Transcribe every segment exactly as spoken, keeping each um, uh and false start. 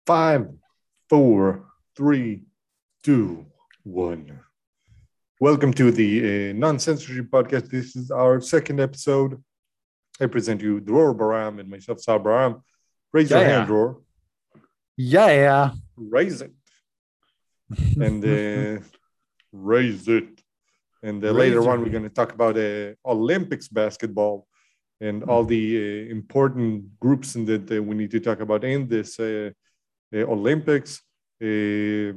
Five, four, three, two, one. Welcome to the uh, Non-Censorship Podcast. This is our second episode. I present you Dror Baram and myself, Sal Baram. Raise your Yeah, hand, yeah. Dror. Yeah, yeah. Raise it. And uh, raise it. And uh, later Raise your on, we're going to talk about uh, Olympics basketball and all the uh, important groups in that uh, we need to talk about in this uh, uh, Olympics. Uh,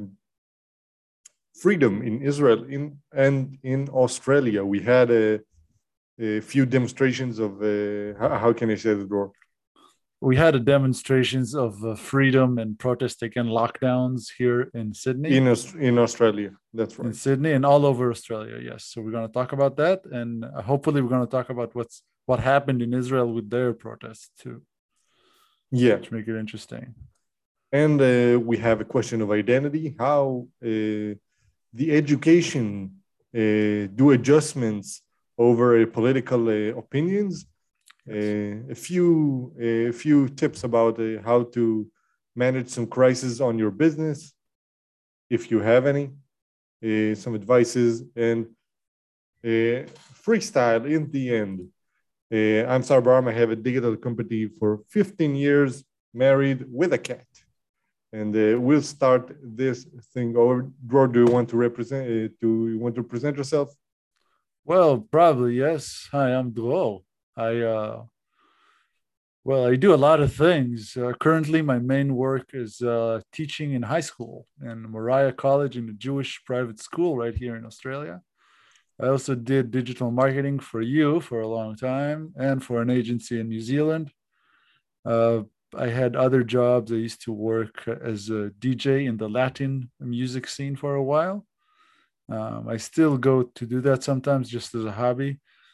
freedom in Israel in and in Australia. We had a, a few demonstrations of uh, how, how can I say the door? We had a demonstrations of uh, freedom and protest against lockdowns here in Sydney. In in Australia, that's in right. Sydney and all over Australia. Yes, so we're going to talk about that, and uh, hopefully we're going to talk about what's what happened in Israel with their protests too. Yeah, to make it interesting. And uh, we have a question of identity. How uh, the education uh, do adjustments over uh, political uh, opinions. Yes. Uh, a few a few tips about uh, how to manage some crisis on your business, if you have any. Uh, some advices and uh, freestyle in the end. Uh, I'm Sar Baram. I have a digital company for fifteen years, married with a cat. And uh, we'll start this thing over. Dror, do you want to represent? Uh, do you want to present yourself? Well, probably yes. Hi, I'm Dror. I uh, well, I do a lot of things. Uh, currently, my main work is uh, teaching in high school in Moriah College, in a Jewish private school right here in Australia. I also did digital marketing for you for a long time and for an agency in New Zealand. Uh, I had other jobs. I used to work as a D J in the Latin music scene for a while. Um, I still go to do that sometimes just as a hobby.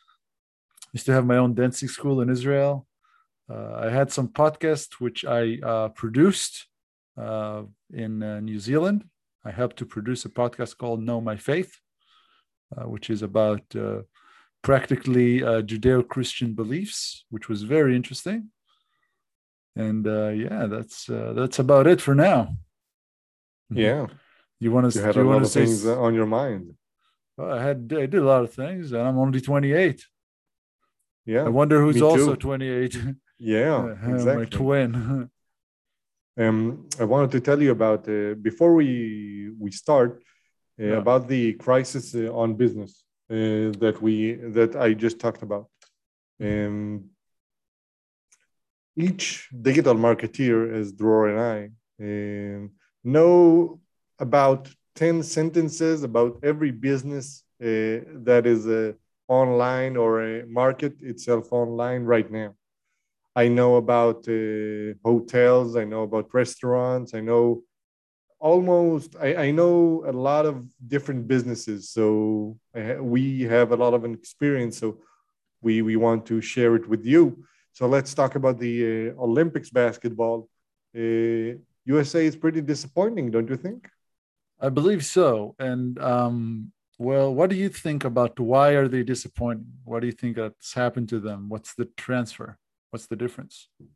I used to have my own dancing school in Israel. Uh, I had some podcasts which I uh, produced uh, in uh, New Zealand. I helped to produce a podcast called Know My Faith, uh, which is about uh, practically uh, Judeo-Christian beliefs, which was very interesting. And uh, yeah, that's uh, that's about it for now. Yeah, you want to? You had Do you a want lot to of say? things on your mind. Well, I had I did a lot of things, and I'm only twenty-eight. Yeah, I wonder who's me also too. twenty-eight. Yeah, My exactly. twin. Um, I wanted to tell you about uh, before we we start uh, Yeah. about the crisis uh, on business uh, that we that I just talked about. Um, each digital marketeer, as Dror and I, um, know about ten sentences about every business uh, that is uh, online or uh, market itself online right now. I know about uh, hotels. I know about restaurants. I know almost, I, I know a lot of different businesses. So I, we have a lot of experience. So we, we want to share it with you. So let's talk about the uh, Olympics basketball. Uh, U S A is pretty disappointing, don't you think? I believe so. And um, well, what do you think about why are they disappointing? What do you think that's happened to them? What's the transfer? What's the difference?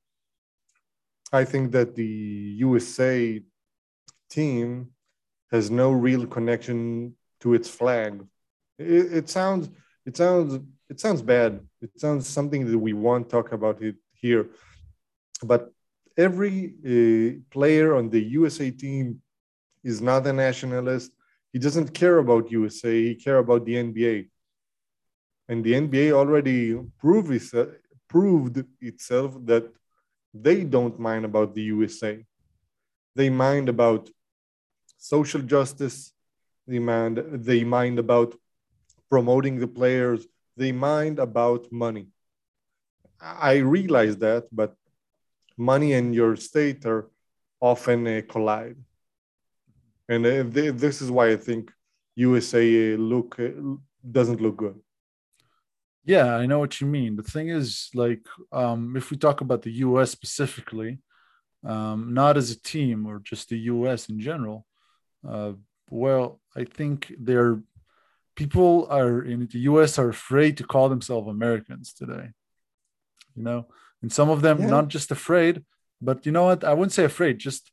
I think that the U S A team has no real connection to its flag. It, it sounds, it sounds, it sounds bad. It sounds something that we won't talk about it here. But every uh, player on the U S A team is not a nationalist. He doesn't care about U S A. He care about the N B A. And the N B A already proved, itself, proved itself that they don't mind about the U S A. They mind about social justice. They mind, they mind about promoting the players. They mind about money. I realize that, but money and your state are often uh, collide. And uh, th- this is why I think U S A uh, look uh, doesn't look good. Yeah, I know what you mean. The thing is, like, um, if we talk about the U S specifically, um, not as a team or just the U S in general, uh, well, I think they're people are in the U S are afraid to call themselves Americans today. You know, and some of them Yeah. not just afraid, but you know what? I wouldn't say afraid, just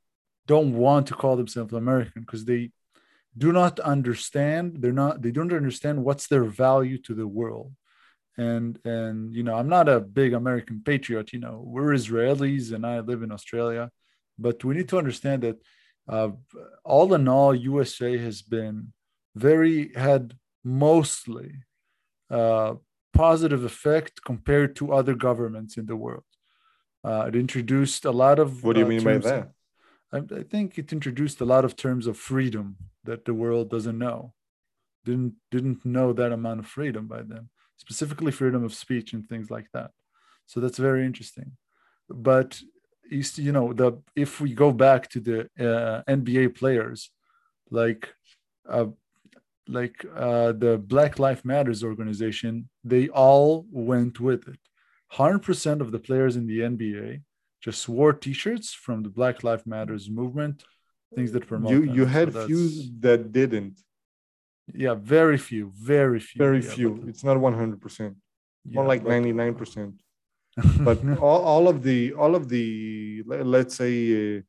don't want to call themselves American because they do not understand. They're not. They don't understand what's their value to the world. And and you know, I'm not a big American patriot. You know, we're Israelis, and I live in Australia, but we need to understand that uh, all in all, U S A has been very had mostly uh, positive effect compared to other governments in the world. Uh, it introduced a lot of What do you uh, mean by terms. that? I, I think it introduced a lot of terms of freedom that the world doesn't know. Didn't didn't know that amount of freedom by then, specifically freedom of speech and things like that. So that's very interesting. But you, see, you know, the if we go back to the uh, N B A players, like uh, like uh, the Black Lives Matters organization, they all went with it. one hundred percent of the players in the N B A just wore T-shirts from the Black Lives Matters movement, things that You promote you them. So had few that's that didn't. yeah, very few, very few. Very Yeah, few. but It's not one hundred percent. More yeah, like but ninety-nine percent. But uh, all, all of the all of the le- let's say uh,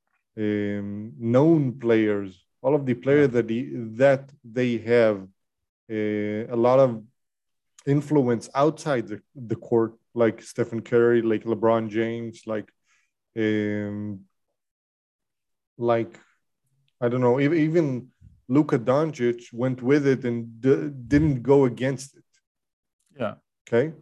um, known players, all of the yeah, players that the, that they have uh, a lot of influence outside the, the court, like Stephen Curry, like LeBron James, like um, like I don't know, even, even Luka Doncic went with it and d- didn't go against it. yeah, Okay,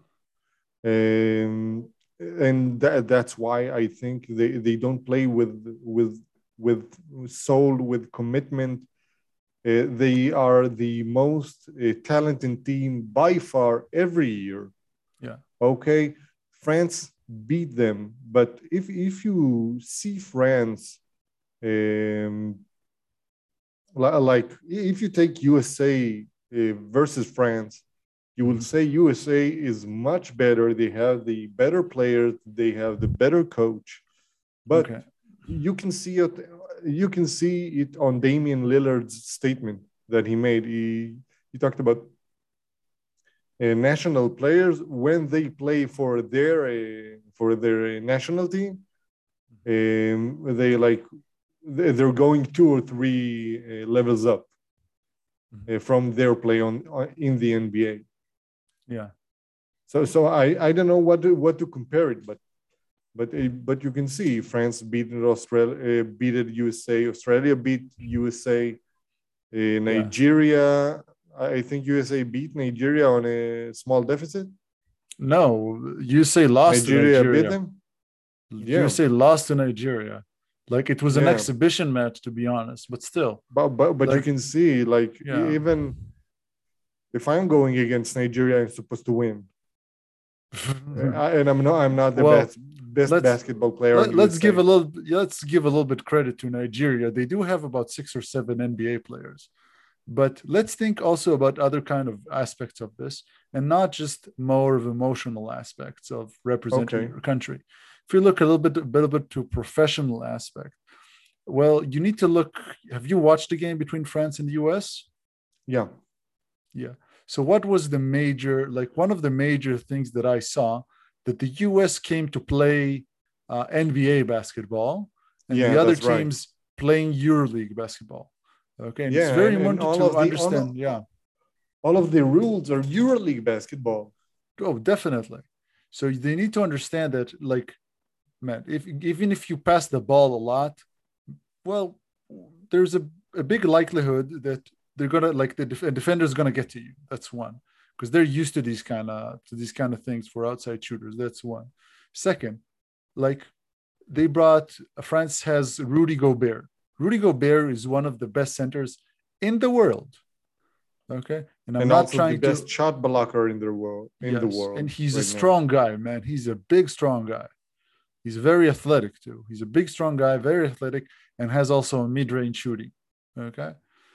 um, and that, that's why I think they, they don't play with with with soul, with commitment. Uh, they are the most uh, talented team by far every year. yeah, Okay, France beat them, but if if you see France, um, like if you take U S A uh, versus France, you will mhm, say U S A is much better. They have the better players, they have the better coach, but okay, you can see it. You can see it on Damian Lillard's statement that he made. He he talked about uh, national players when they play for their uh, for their national team. Um, they like they're going two or three uh, levels up mhm, uh, from their play on, on in the N B A. yeah, So so I I don't know what to, what to compare it, but but uh, but you can see France beat Australia, uh, beat U S A, Australia beat U S A, uh, yeah. Nigeria. I think U S A beat Nigeria on a small deficit. No, you say lost to Nigeria beat Nigeria. them. Yeah, You say lost to Nigeria. Like it was an yeah. exhibition match, to be honest, but still, But but but you like, can see like yeah. e- even if I'm going against Nigeria, I'm supposed to win. Uh, and I'm not I'm not the Well, best best let's basketball player on let, let's give U S A. a little let's give a little bit credit to Nigeria. They do have about six or seven N B A players. But let's think also about other kind of aspects of this and not just more of emotional aspects of representing Okay. your country. If you look a little bit a little bit to professional aspect, well, you need to look. Have you watched the game between France and the U S? Yeah. Yeah. So what was the major, like one of the major things that I saw that the U S came to play uh, N B A basketball and the Yeah, other that's right. teams playing EuroLeague basketball. Okay. And it's Yeah, very and, and important all to of the all, understand. Yeah. all of the rules are EuroLeague basketball. Oh, definitely. So they need to understand that, like, man, if even if you pass the ball a lot, well, there's a, a big likelihood that they're gonna like the def- defender's gonna get to you. That's one, because they're used to these kind of to these kind of things for outside shooters. That's one. Second, like they brought France has Rudy Gobert. Rudy Gobert is one of the best centers in the world. Okay, and I'm And not also the trying best to. shot blocker in the world in the Yes, and world he's a right now. strong guy, man. He's a big, strong guy. He's very athletic too. He's a big, strong guy, very athletic, and has also a mid-range shooting. Okay.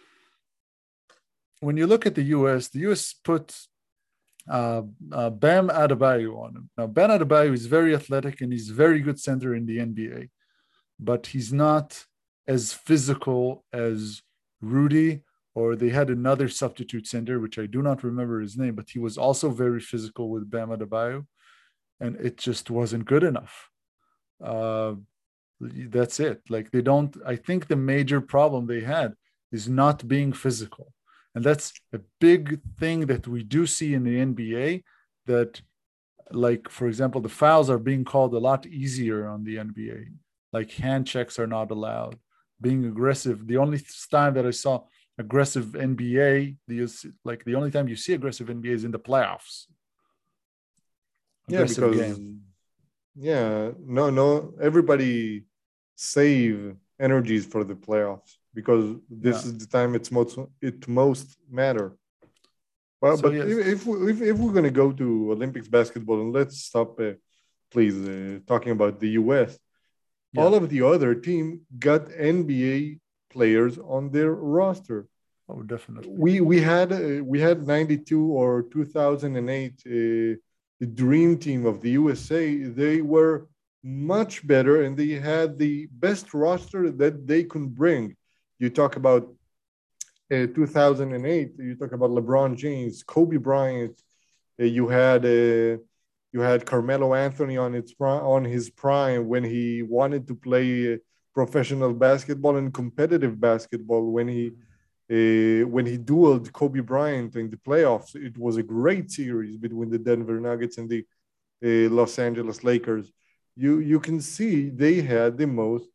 When you look at the U S, the U S put uh, uh, Bam Adebayo on him. Now, Bam Adebayo is very athletic and he's a very good center in the N B A, but he's not as physical as Rudy, or they had another substitute center, which I do not remember his name, but he was also very physical with Bam Adebayo, and it just wasn't good enough. Uh, That's it. Like they don't, I think the major problem they had is not being physical. And that's a big thing that we do see in the N B A, that like, for example, the fouls are being called a lot easier on the N B A. Like hand checks are not allowed. Being aggressive. The only time that I saw aggressive N B A, the like the only time you see aggressive N B A is in the playoffs. Aggressive yeah, because game. yeah, no, no, everybody save energies for the playoffs because this yeah. is the time it's most it most matter. Well, so, but yes. if if, we, if if we're gonna go to Olympics basketball, and let's stop, uh, please, uh, talking about the U S. Yeah. All of the other team got N B A players on their roster. Oh, definitely. We we had uh, we had ninety-two or two thousand eight. Uh, the dream team of the U S A. They were much better, and they had the best roster that they could bring. You talk about uh, two thousand eight. You talk about LeBron James, Kobe Bryant. Uh, you had uh, you had Carmelo Anthony on its on his prime when he wanted to play uh, professional basketball and competitive basketball. When he uh, when he dueled Kobe Bryant in the playoffs, it was a great series between the Denver Nuggets and the uh, Los Angeles Lakers. You you can see they had the most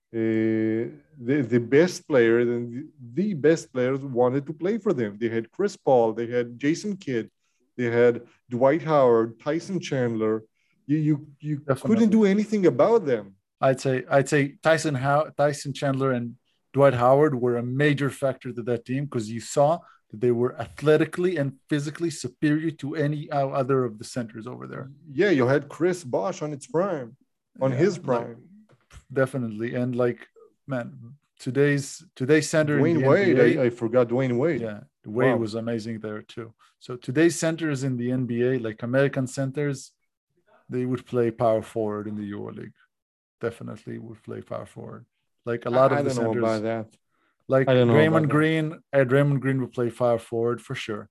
uh, the the best players, and the, the best players wanted to play for them. They had Chris Paul, they had Jason Kidd, they had Dwight Howard, Tyson Chandler. You you you Definitely. couldn't do anything about them. I'd say I'd say Tyson How Tyson Chandler and Dwight Howard were a major factor to that team because you saw that they were athletically and physically superior to any other of the centers over there. Yeah, you had Chris Bosh on its prime, on yeah, his prime. Like, definitely. And like, man, today's today's center Dwayne in the Wade, N B A, I, I forgot Dwayne Wade. Yeah, Wade wow. was amazing there too. So today's centers in the N B A, like American centers, they would play power forward in the EuroLeague. Definitely would play power forward. Like a lot I, of I the don't centers. know about that. Like Draymond Green, Ed Draymond Green would play power forward for sure.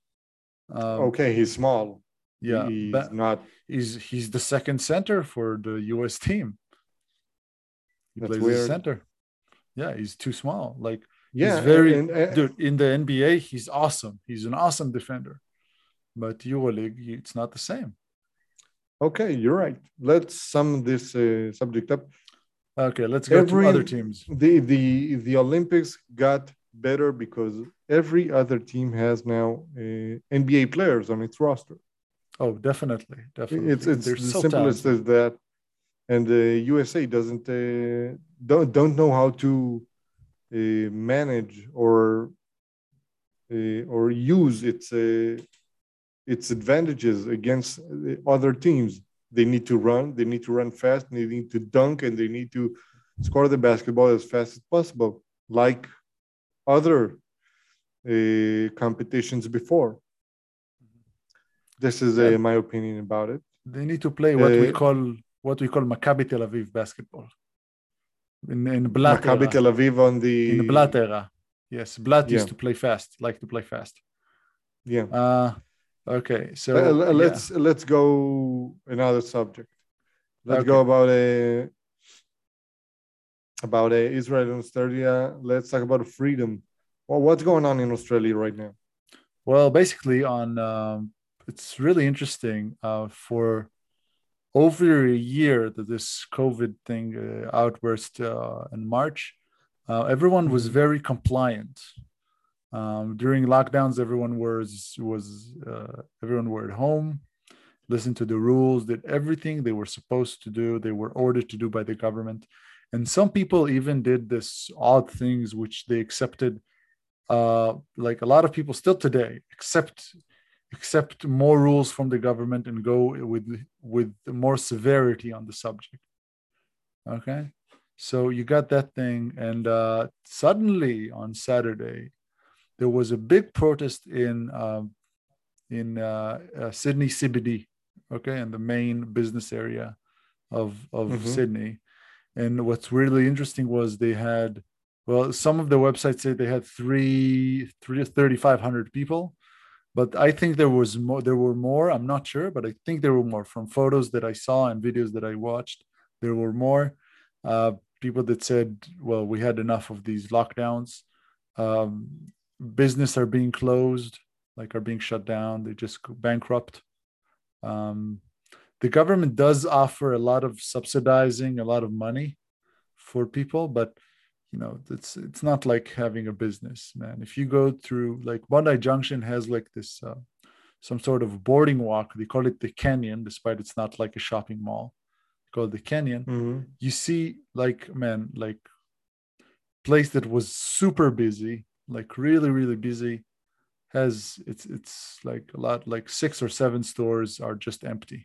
Um, okay, he's small. Yeah, he's but not. He's he's the second center for the U S team. He That's plays weird. as center. Yeah, he's too small. Like yeah, he's very and, and, dude in the N B A. He's awesome. He's an awesome defender, but EuroLeague, it's not the same. Okay, you're right. Let's sum this uh, subject up. Okay, let's go every, to other teams. The the the Olympics got better because every other team has now uh, N B A players on its roster. Oh, definitely, definitely. It's it's They're the so simplest as that, and the U S A doesn't uh, don't don't know how to uh, manage or uh, or use its uh, its advantages against other teams. They need to run, they need to run fast, they need to dunk, and they need to score the basketball as fast as possible, like other uh, competitions before. This is uh, my opinion about it. They need to play what uh, we call what we call Maccabi Tel Aviv basketball. In, in Blatt Maccabi era. Tel Aviv on the... In the Blatt era. Yes, Blatt yeah. used to play fast, like to play fast. Yeah. Uh, okay, so... Uh, let's yeah. let's go another subject. Let's okay. go about a... About a Israel and Australia. Let's talk about freedom. Well, what's going on in Australia right now? Well, basically on... Um, it's really interesting uh, for over a year that this COVID thing uh, outburst uh, in March. Uh, everyone was very compliant. Um, during lockdowns, everyone was was uh, everyone were at home, listened to the rules, did everything they were supposed to do. They were ordered to do by the government, and some people even did this odd things which they accepted. Uh, like a lot of people still today accept. accept more rules from the government and go with with more severity on the subject. Okay, so you got that thing, and uh, suddenly on Saturday there was a big protest in uh, in uh, uh, Sydney C B D, okay, in the main business area of of mm-hmm. Sydney. And what's really interesting was they had, well, some of the websites say they had three three thirty-five hundred people. But I think there was more. There were more. I'm not sure, but I think there were more from photos that I saw and videos that I watched. There were more. Uh, people that said, well, we had enough of these lockdowns. Um, business are being closed, like are being shut down. They just go bankrupt. Um, the government does offer a lot of subsidizing, a lot of money for people, but you know, it's it's not like having a business, man. If you go through, like, Bondi Junction has like this uh, some sort of boarding walk. They call it the canyon, despite it's not like a shopping mall. They call it the canyon. Mm-hmm. You see, like, man, like, place that was super busy, like really, really busy, has it's it's like a lot, like six or seven stores are just empty.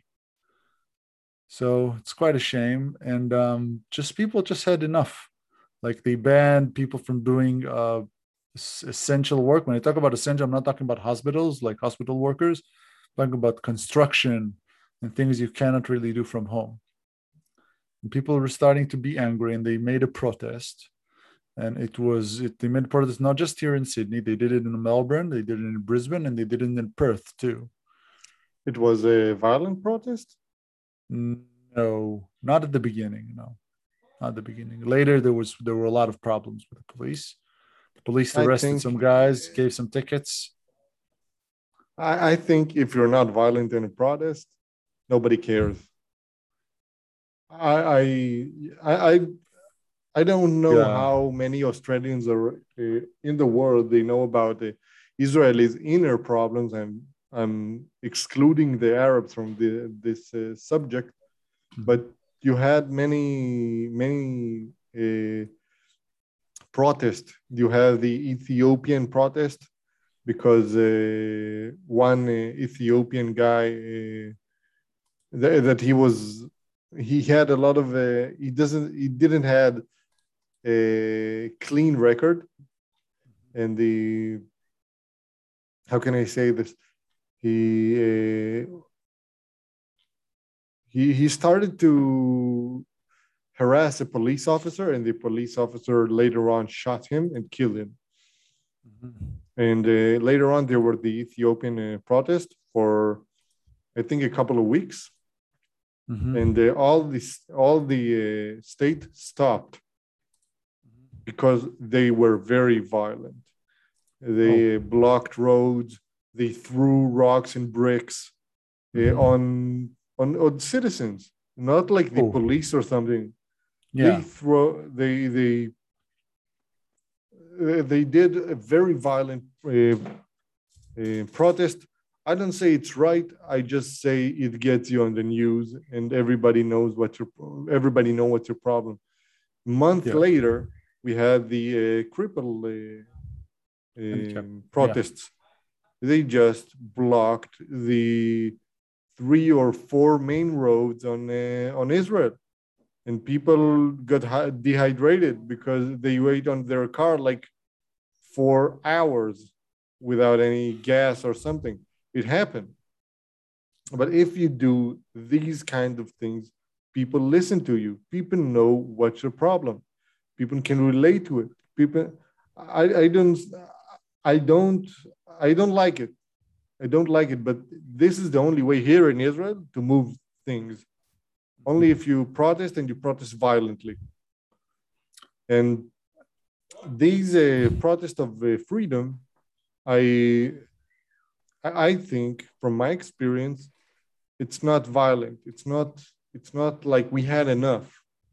So it's quite a shame. And um, just people just had enough. Like, they banned people from doing uh, essential work. When I talk about essential, I'm not talking about hospitals, like hospital workers. I'm talking about construction and things you cannot really do from home. And people were starting to be angry, and they made a protest. And it was it, they made protest not just here in Sydney. They did it in Melbourne, they did it in Brisbane, and they did it in Perth too. It was a violent protest. No, not at the beginning. No, not at the beginning. Later, there was there were a lot of problems with the police. The police I arrested think some guys, gave some tickets. I, I think if you're not violent in a protest, nobody cares. I I I I don't know Yeah. how many Australians are uh, in the world they know about the Israelis' inner problems, and I'm excluding the Arabs from the, this uh, subject. Mm-hmm. But you had many many uh, protests. You have the Ethiopian protest because uh, one uh, Ethiopian guy uh, th- that he was he had a lot of uh, he doesn't he didn't had a clean record, and the how can I say this he uh, he he started to harass a police officer, and the police officer later on shot him and killed him. Mm-hmm. And uh, later on there were the Ethiopian uh, protest for I think a couple of weeks. Mm-hmm. And uh, all this all the uh, state stopped because they were very violent. They Oh. blocked roads. They threw rocks and bricks uh, Mm-hmm. on, on on citizens, not like the Oh. police or something. Yeah. They throw they they uh, they did a very violent uh, uh, protest. I don't say it's right. I just say it gets you on the news, and everybody knows what your everybody know what's your problem. Month Yeah. later, we had the uh, cripple uh, um, protests. Yeah. They just blocked the three or four main roads on uh, on Israel, and people got dehydrated because they wait on their car like four hours without any gas or something. It happened. But if you do these kind of things, people listen to you. People know what's your problem. People can relate to it. People, I, I don't, I don't, I don't like it. I don't like it. But this is the only way here in Israel to move things. Only if you protest, and you protest violently. And these uh, protests of uh, freedom, I, I think from my experience, it's not violent. It's not. It's not like we had enough.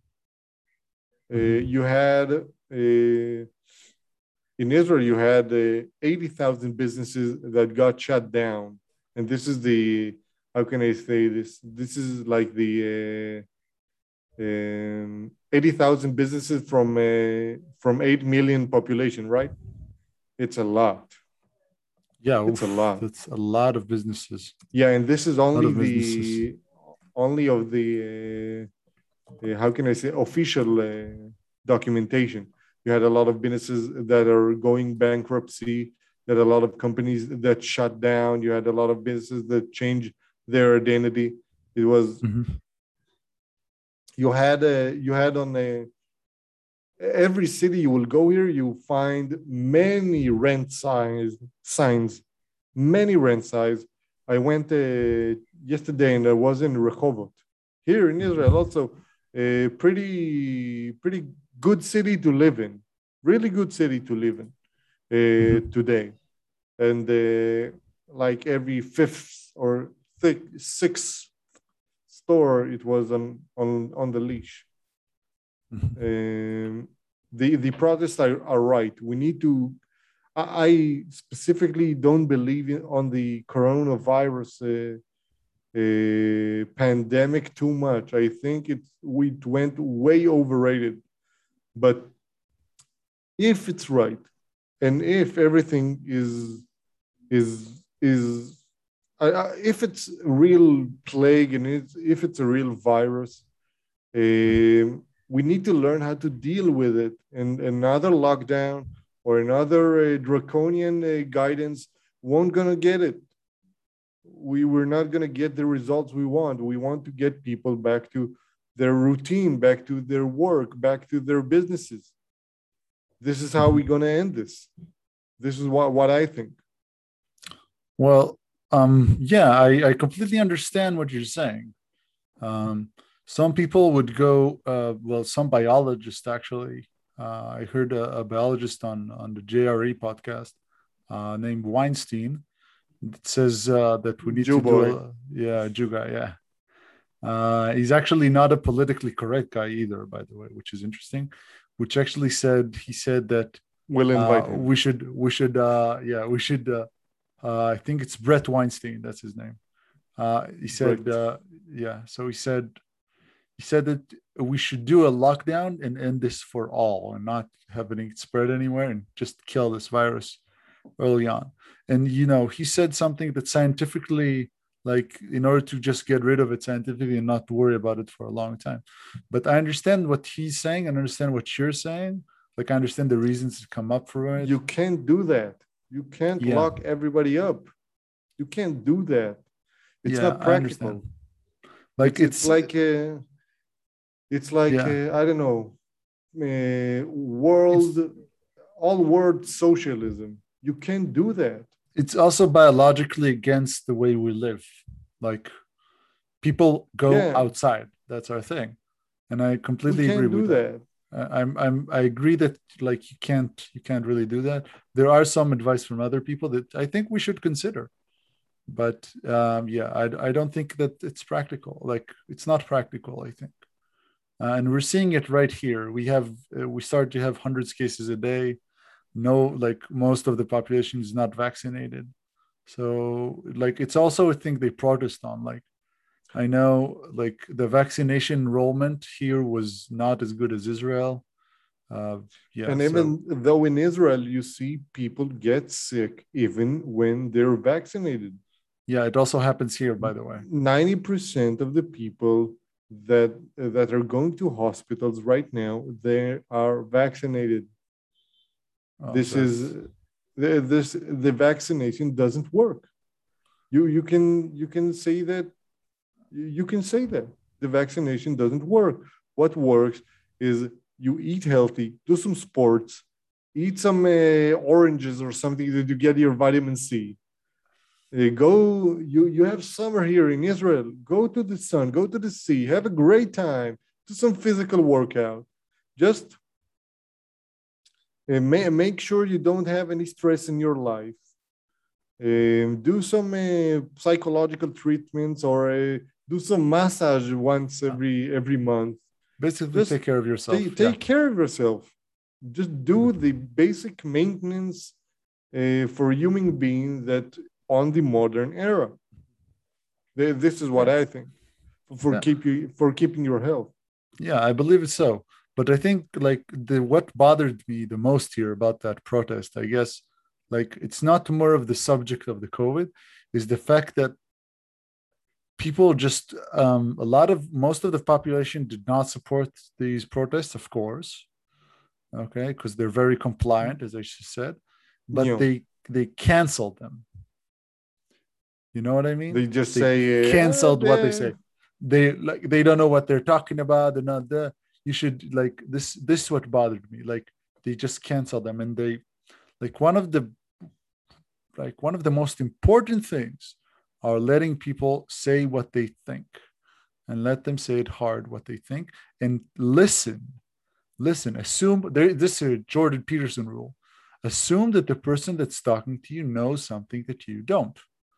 Uh, you had uh, in Israel, you had uh, eighty thousand businesses that got shut down, and this is the how can I say this? This is like the uh, um, eighty thousand businesses from uh, from eight million population, right? It's a lot. Yeah, it's oof, a lot. That's a lot of businesses. Yeah, and this is only the businesses. only of the uh, uh, how can I say official uh, documentation. You had a lot of businesses that are going bankruptcy. You had a lot of companies that shut down. You had a lot of businesses that changed their identity. It was Mm-hmm. you had a you had on a every city you will go here, you find many rent signs signs, many rent signs. I went uh, yesterday and I was in Rehovot. Here in Israel also, a pretty pretty good city to live in, really good city to live in uh, Mhm. today. And uh, like every fifth or thick, sixth store, it was on on on the leash. Mhm. Um, the the protests are, are right. We need to. I, I specifically don't believe in, on the coronavirus uh, uh, pandemic too much. I think it we went way overrated. But if it's right, and if everything is is is I, I, if it's a real plague and it's, if it's a real virus, um, we need to learn how to deal with it. And another lockdown or another uh, draconian uh, guidance won't gonna get it. We we're not gonna get the results we want. We want to get people back to their routine, back to their work, back to their businesses. This is how Mhm. we're gonna end this. This is what what I think. Well, um, yeah, I, I completely understand what you're saying. Um, some people would go, uh, well, some biologists actually. Uh, I heard a, a biologist on on the J R E podcast uh, named Weinstein that says uh, that we need Joe to do boy. a yeah, Juga, yeah. Uh, he's actually not a politically correct guy either, by the way, which is interesting. Which actually said he said that We'll uh, invite him. we should we should uh, yeah we should uh, uh, I think it's Brett Weinstein, that's his name. Uh, he said Brett. uh, yeah, so he said he said that we should do a lockdown and end this for all and not have it spread anywhere and just kill this virus early on. And you know, he said something that scientifically, like in order to just get rid of it scientifically and not worry about it for a long time. But I understand what he's saying and understand what you're saying. Like I understand the reasons to come up for it. You can't do that. You can't Yeah, lock everybody up. You can't do that. It's yeah, not I understand. practical. Like It's it's it's like uh, it's like yeah, uh, I don't know, uh, it's world all world socialism. You can't do that. it's also biologically against the way we live. Like people go Yeah, outside. That's our thing. And I we completely agree can't do with that. that. I- I'm I'm I agree that like you can't you can't really do that. There are some advice from other people that I think we should consider, but um, yeah, I I don't think that it's practical. Like it's not practical. I think, uh, and we're seeing it right here. We have uh, we start to have hundreds cases a day. No, like most of the population is not vaccinated. So like it's also a thing they protest on. Like I know like the vaccination enrollment here was not as good as Israel. Uh, yeah, And so even though in Israel you see people get sick even when they're vaccinated, yeah, it also happens here, by the way. ninety percent of the people that that are going to hospitals right now, they are vaccinated. Oh, This is that's the- this the vaccination doesn't work. You you can you can say that you can say that the vaccination doesn't work. What works is you eat healthy, do some sports, eat some uh, oranges or something that you get your vitamin C. Uh, go, you you have summer here in Israel. Go to the sun, go to the sea, have a great time, do some physical workout. Just uh, ma- make sure you don't have any stress in your life. Um, do some uh, psychological treatments or uh, do some massage once uh, every every month. basically Just take care of take yourself. Yeah. take care of yourself. Just do the basic maintenance uh, for human being that on the modern era. This is what Yeah. I think for Yeah. keep you for keeping your health. Yeah. I believe it's so. But I think like the what bothered me the most here about that protest, I guess, like it's not more of the subject of the COVID, is the fact that people just um, a lot of most of the population did not support these protests, of course, okay, because they're very compliant, as I just said, but You know, they they canceled them. You know what I mean? they just They say, uh, canceled what they the, say. They like they don't know what they're talking about. They're not there. You should like this. This is what bothered me. Like they just canceled them, and they like one of the like one of the most important things are letting people say what they think. and let them say it hard what they think, and listen. Listen, assume there, this is a Jordan Peterson rule. Assume that the person that's talking to you knows something that you don't.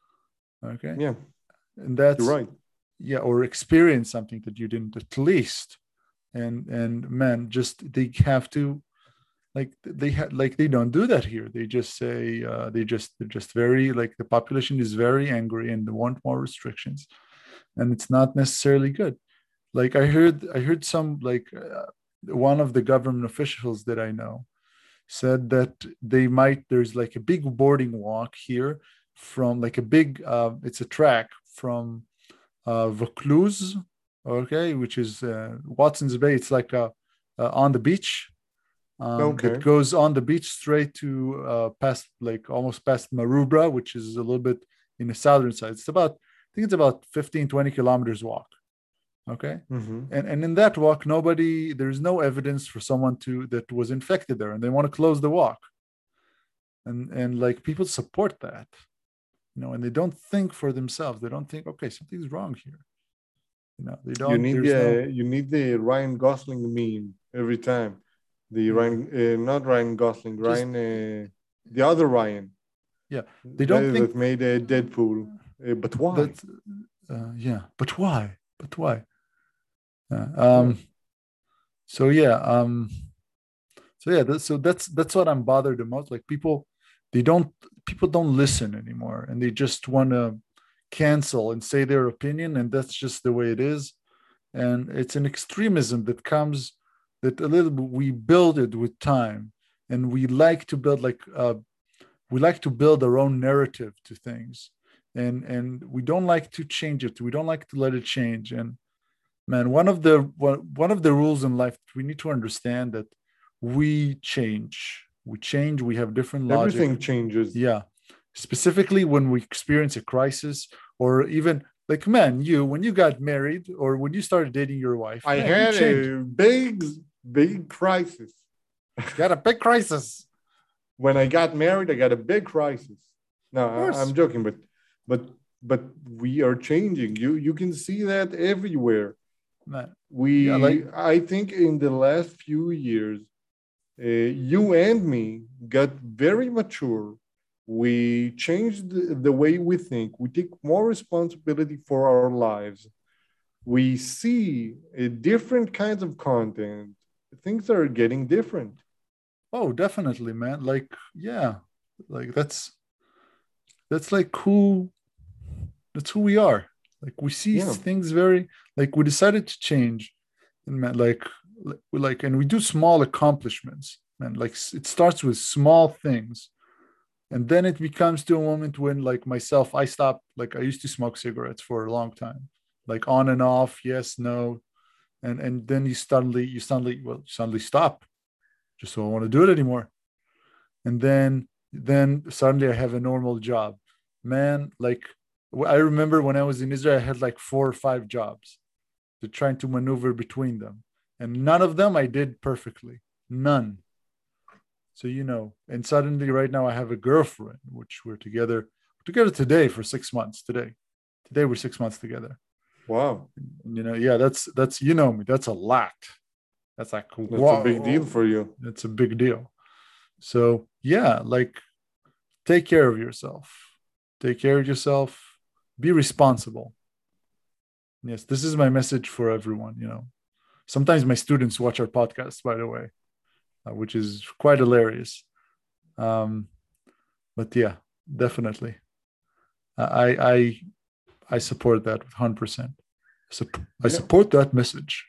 Okay. Yeah, And that's you're right. yeah, or experience something that you didn't at least. And and man, just they have to like they have like they don't do that here. They just say uh, they just they're just very like the population is very angry and they want more restrictions, and it's not necessarily good. Like I heard I heard some like uh, one of the government officials that I know said that they might there's like a big boarding walk here from like a big uh, it's a track from uh, Vaucluse, okay, which is uh, Watson's Bay. It's like uh, uh, on the beach um, that Okay. goes on the beach straight to uh, past like almost past Maroubra, which is a little bit in the southern side. It's about I think it's about fifteen twenty kilometers walk. Okay. Mm-hmm. And, and in that walk, nobody, there's no evidence for someone to that was infected there, and they want to close the walk. And and like people support that, you know, and they don't think for themselves. They don't think, okay, something's wrong here. You know, they You don't, need there's the no you need the Ryan Gosling meme every time. The yeah, Ryan, uh, not Ryan Gosling, just Ryan, uh, the other Ryan, yeah. They don't that, think that made a Deadpool. Uh, but why? that uh, yeah, but why? But why? Uh, Yeah. um so yeah, um so yeah, that's, so that's that's what I'm bothered the most. Like people, they don't people don't listen anymore, and they just want to cancel and say their opinion, and that's just the way it is. And it's an extremism that comes that a little bit we build it with time, and we like to build like uh, we like to build our own narrative to things, and and we don't like to change it. We don't like to let it change. And man, one of the one, one of the rules in life we need to understand that we change we change we have different logic. Everything changes. Yeah, specifically when we experience a crisis, or even like man, you when you got married or when you started dating your wife, I man, you had changed. a big, big crisis. Got a big crisis. When I got married, I got a big crisis. No, Of I, course. I'm joking, but but but we are changing. You you can see that everywhere. Man, yeah, like We I think in the last few years, uh, you and me got very mature. We changed the, the way we think. We take more responsibility for our lives. We see uh, different kinds of content. Things are getting different. oh definitely, man, like yeah, like that's that's like who that's who we are. Like we see Yeah. things very like we decided to change, and man, like like and we do small accomplishments, man. Like it starts with small things, and then it becomes to a moment when like myself, I stopped. Like I used to smoke cigarettes for a long time, like on and off, yes, no, and and then you suddenly you suddenly well you suddenly stop. Just don't want to do it anymore, and then then suddenly I have a normal job, man. Like I remember when I was in Israel, I had like four or five jobs, to trying to maneuver between them, and none of them I did perfectly, none. So you know, and suddenly right now I have a girlfriend, which we're together we're together today for six months. Today, today we're six months together. Wow. And, you know, yeah, that's that's you know me. That's a lot. That's like That's a big deal whoa. for you. That's a big deal. So yeah, like take care of yourself. Take care of yourself. Be responsible. Yes, this is my message for everyone. You know, sometimes my students watch our podcast, by the way, uh, which is quite hilarious. Um, but yeah, definitely, I I I support that one hundred percent. I Yeah. support that message.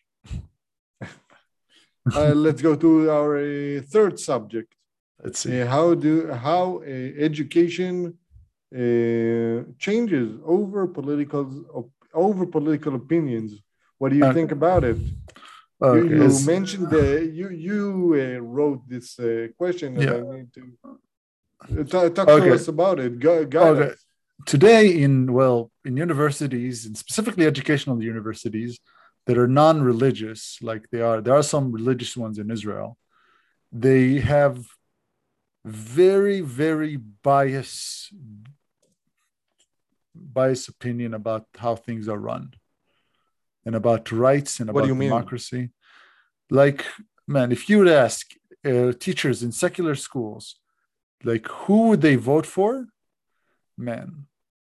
Uh, let's go to our uh, third subject. Let's see. Uh, how do how uh, education uh, changes over political over political opinions? What do you Okay. think about it? You Okay. you As, mentioned the you you uh, wrote this uh, question, and yeah. I need to uh, t- talk to Okay. us about it. Gu- guide Okay. us. Today, in well, in universities, and specifically educational universities that are non-religious, like they are, there are some religious ones in Israel. They have very, very bias biased opinion about how things are run. and about rights and What do about you mean? democracy. Like, man, if you would ask uh, teachers in secular schools, like, who would they vote for? Man,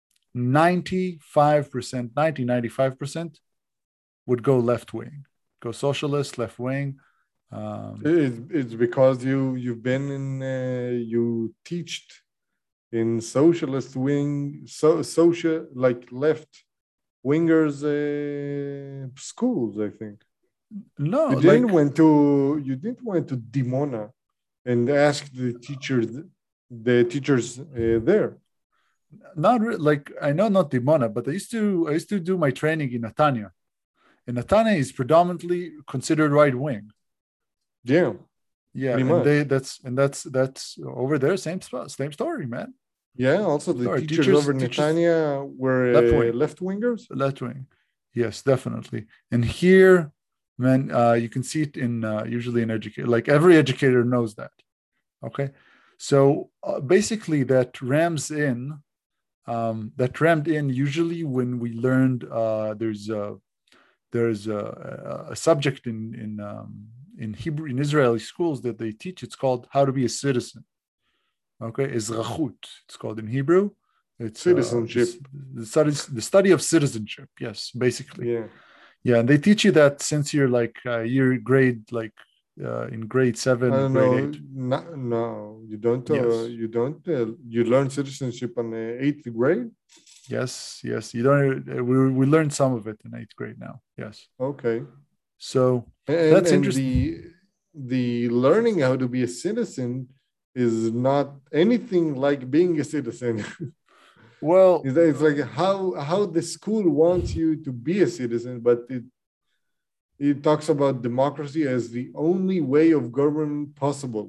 ninety-five percent, ninety, ninety-five percent would go left wing, go socialist, left wing. Um, It's, it's because you you've been in uh, you teached in socialist wing, so social like left wingers uh, schools. I think no, you didn't like, went to you didn't went to Dimona and ask the teachers the teachers uh, there. not re- like, I know not Dimona, but I used to I used to do my training in Netanya. And Netanya is predominantly considered right wing. Yeah, Yeah, pretty and much. they that's and that's that's over there. Same spot, same story, man. Yeah. Also, Same the story. teachers Teachers, over teachers, Netanya left were uh, wing, left wingers. left wing. Yes, definitely. And here, man, uh, you can see it in uh, usually in education. Like every educator knows that. Okay, so uh, basically, that rams in. Um, that rammed in usually when we learned uh, there's a there's a, a subject in in um, in Hebrew in Israeli schools that they teach. It's called how to be a citizen. Okay, Ezrachut. It's called in Hebrew. It's uh, Citizenship. the, the study the study of citizenship. Yes, basically. Yeah. Yeah, and they teach you that since you're like uh, you're grade like uh, in grade I seven or don't grade know. eight. No, no, you don't. Uh, Yes, you don't. Uh, you learn citizenship on the eighth grade. yes, yes. You don't. Uh, we we learned some of it in eighth grade now. Yes. Okay. So And that's and interesting. the the learning how to be a citizen is not anything like being a citizen. Well, it's, it's like how how the school wants you to be a citizen, but it it talks about democracy as the only way of government possible,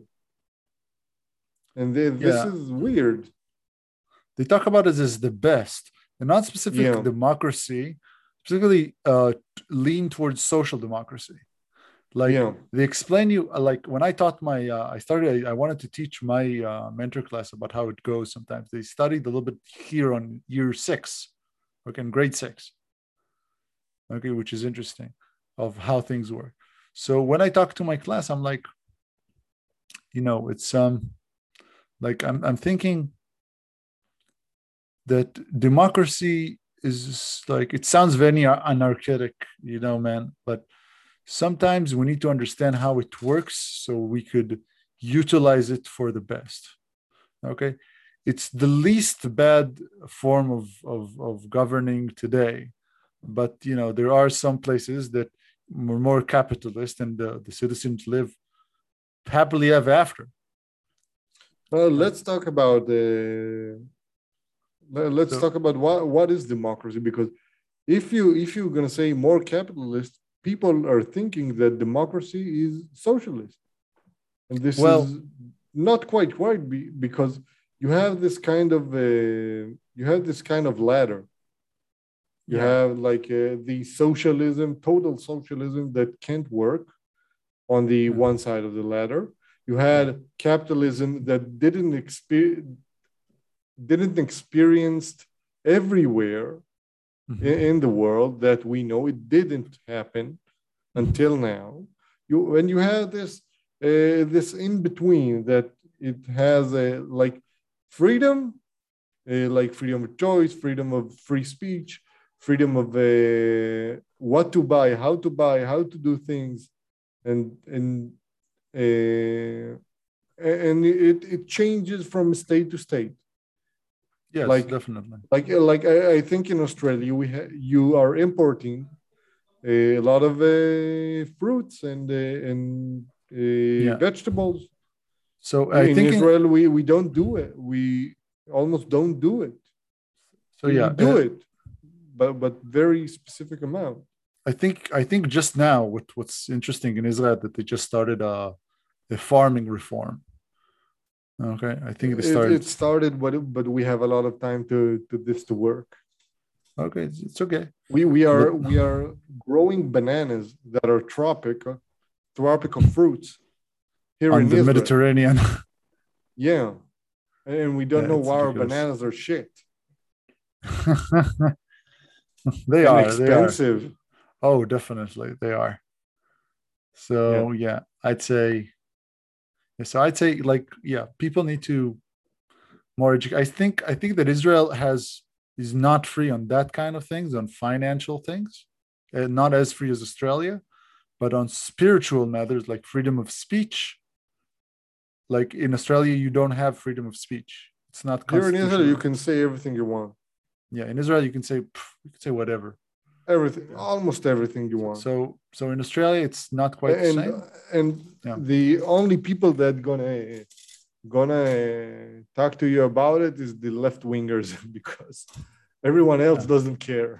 and the, this yeah, is weird. they talk about it as the best, and not specific Yeah. democracy, specifically uh, lean towards social democracy. Like Yeah. they explain you, uh, like when I taught my, uh, I started, I, I wanted to teach my uh, mentor class about how it goes. Sometimes they studied a little bit here on year six, okay, in grade six, okay, which is interesting of how things work. So when I talk to my class, I'm like, you know, it's um, like I'm, I'm thinking that democracy is like, it sounds very anarchic, you know, man, but sometimes we need to understand how it works so we could utilize it for the best. Okay. It's the least bad form of, of, of governing today. But, you know, there are some places that are more capitalist and the, the citizens live happily ever after. Well, Uh, let's talk about the. Uh, let's so, talk about what what is democracy, because if you if you're going to say more capitalist, people are thinking that democracy is socialist, and this well, is not quite right, because you have this kind of uh, you have this kind of ladder. You yeah. have like uh, the socialism, total socialism that can't work on the Mm-hmm. one side of the ladder. You Yeah. had capitalism that didn't experience didn't experienced everywhere Mm-hmm. in, in the world that we know. It didn't happen Mm-hmm. until now. You when you have this uh, this in between, that it has a like freedom, uh, like freedom of choice, freedom of free speech, freedom of uh, what to buy, how to buy, how to do things, and and uh, and it, it changes from state to state. Yes, Like definitely. like like I, I think in Australia we ha- you are importing a lot of uh, fruits and uh, and uh, Yeah. vegetables. So I In think in, Israel, we we don't do it. We almost don't do it. so We, we yeah, do uh, it, but but very specific amount. I think I think just now what what's interesting in Israel that they just started a, a farming reform. Okay, I think they It, started. it started, but but we have a lot of time to to this to work. Okay, it's, it's okay, We we but are we are growing bananas that are tropical tropical fruits here on in the Israel. Mediterranean, Yeah, and we don't yeah, know it's why our ridiculous. bananas are shit They and are, they are. expensive. Oh, definitely they are. Yeah. So yeah, I'd say so I'd say like yeah, people need to more edu- I think I think that Israel has is not free on that kind of things, on financial things, uh, not as free as Australia, but on spiritual matters like freedom of speech. Like in Australia, you don't have freedom of speech. It's not Here in Israel, you constitutional. can say everything you want. Yeah, in Israel, you can say you can say whatever. Everything, almost everything you So want. so, so in Australia, it's not quite the And same. and Yeah, the only people that gonna gonna talk to you about it is the left wingers because everyone else yeah. doesn't care.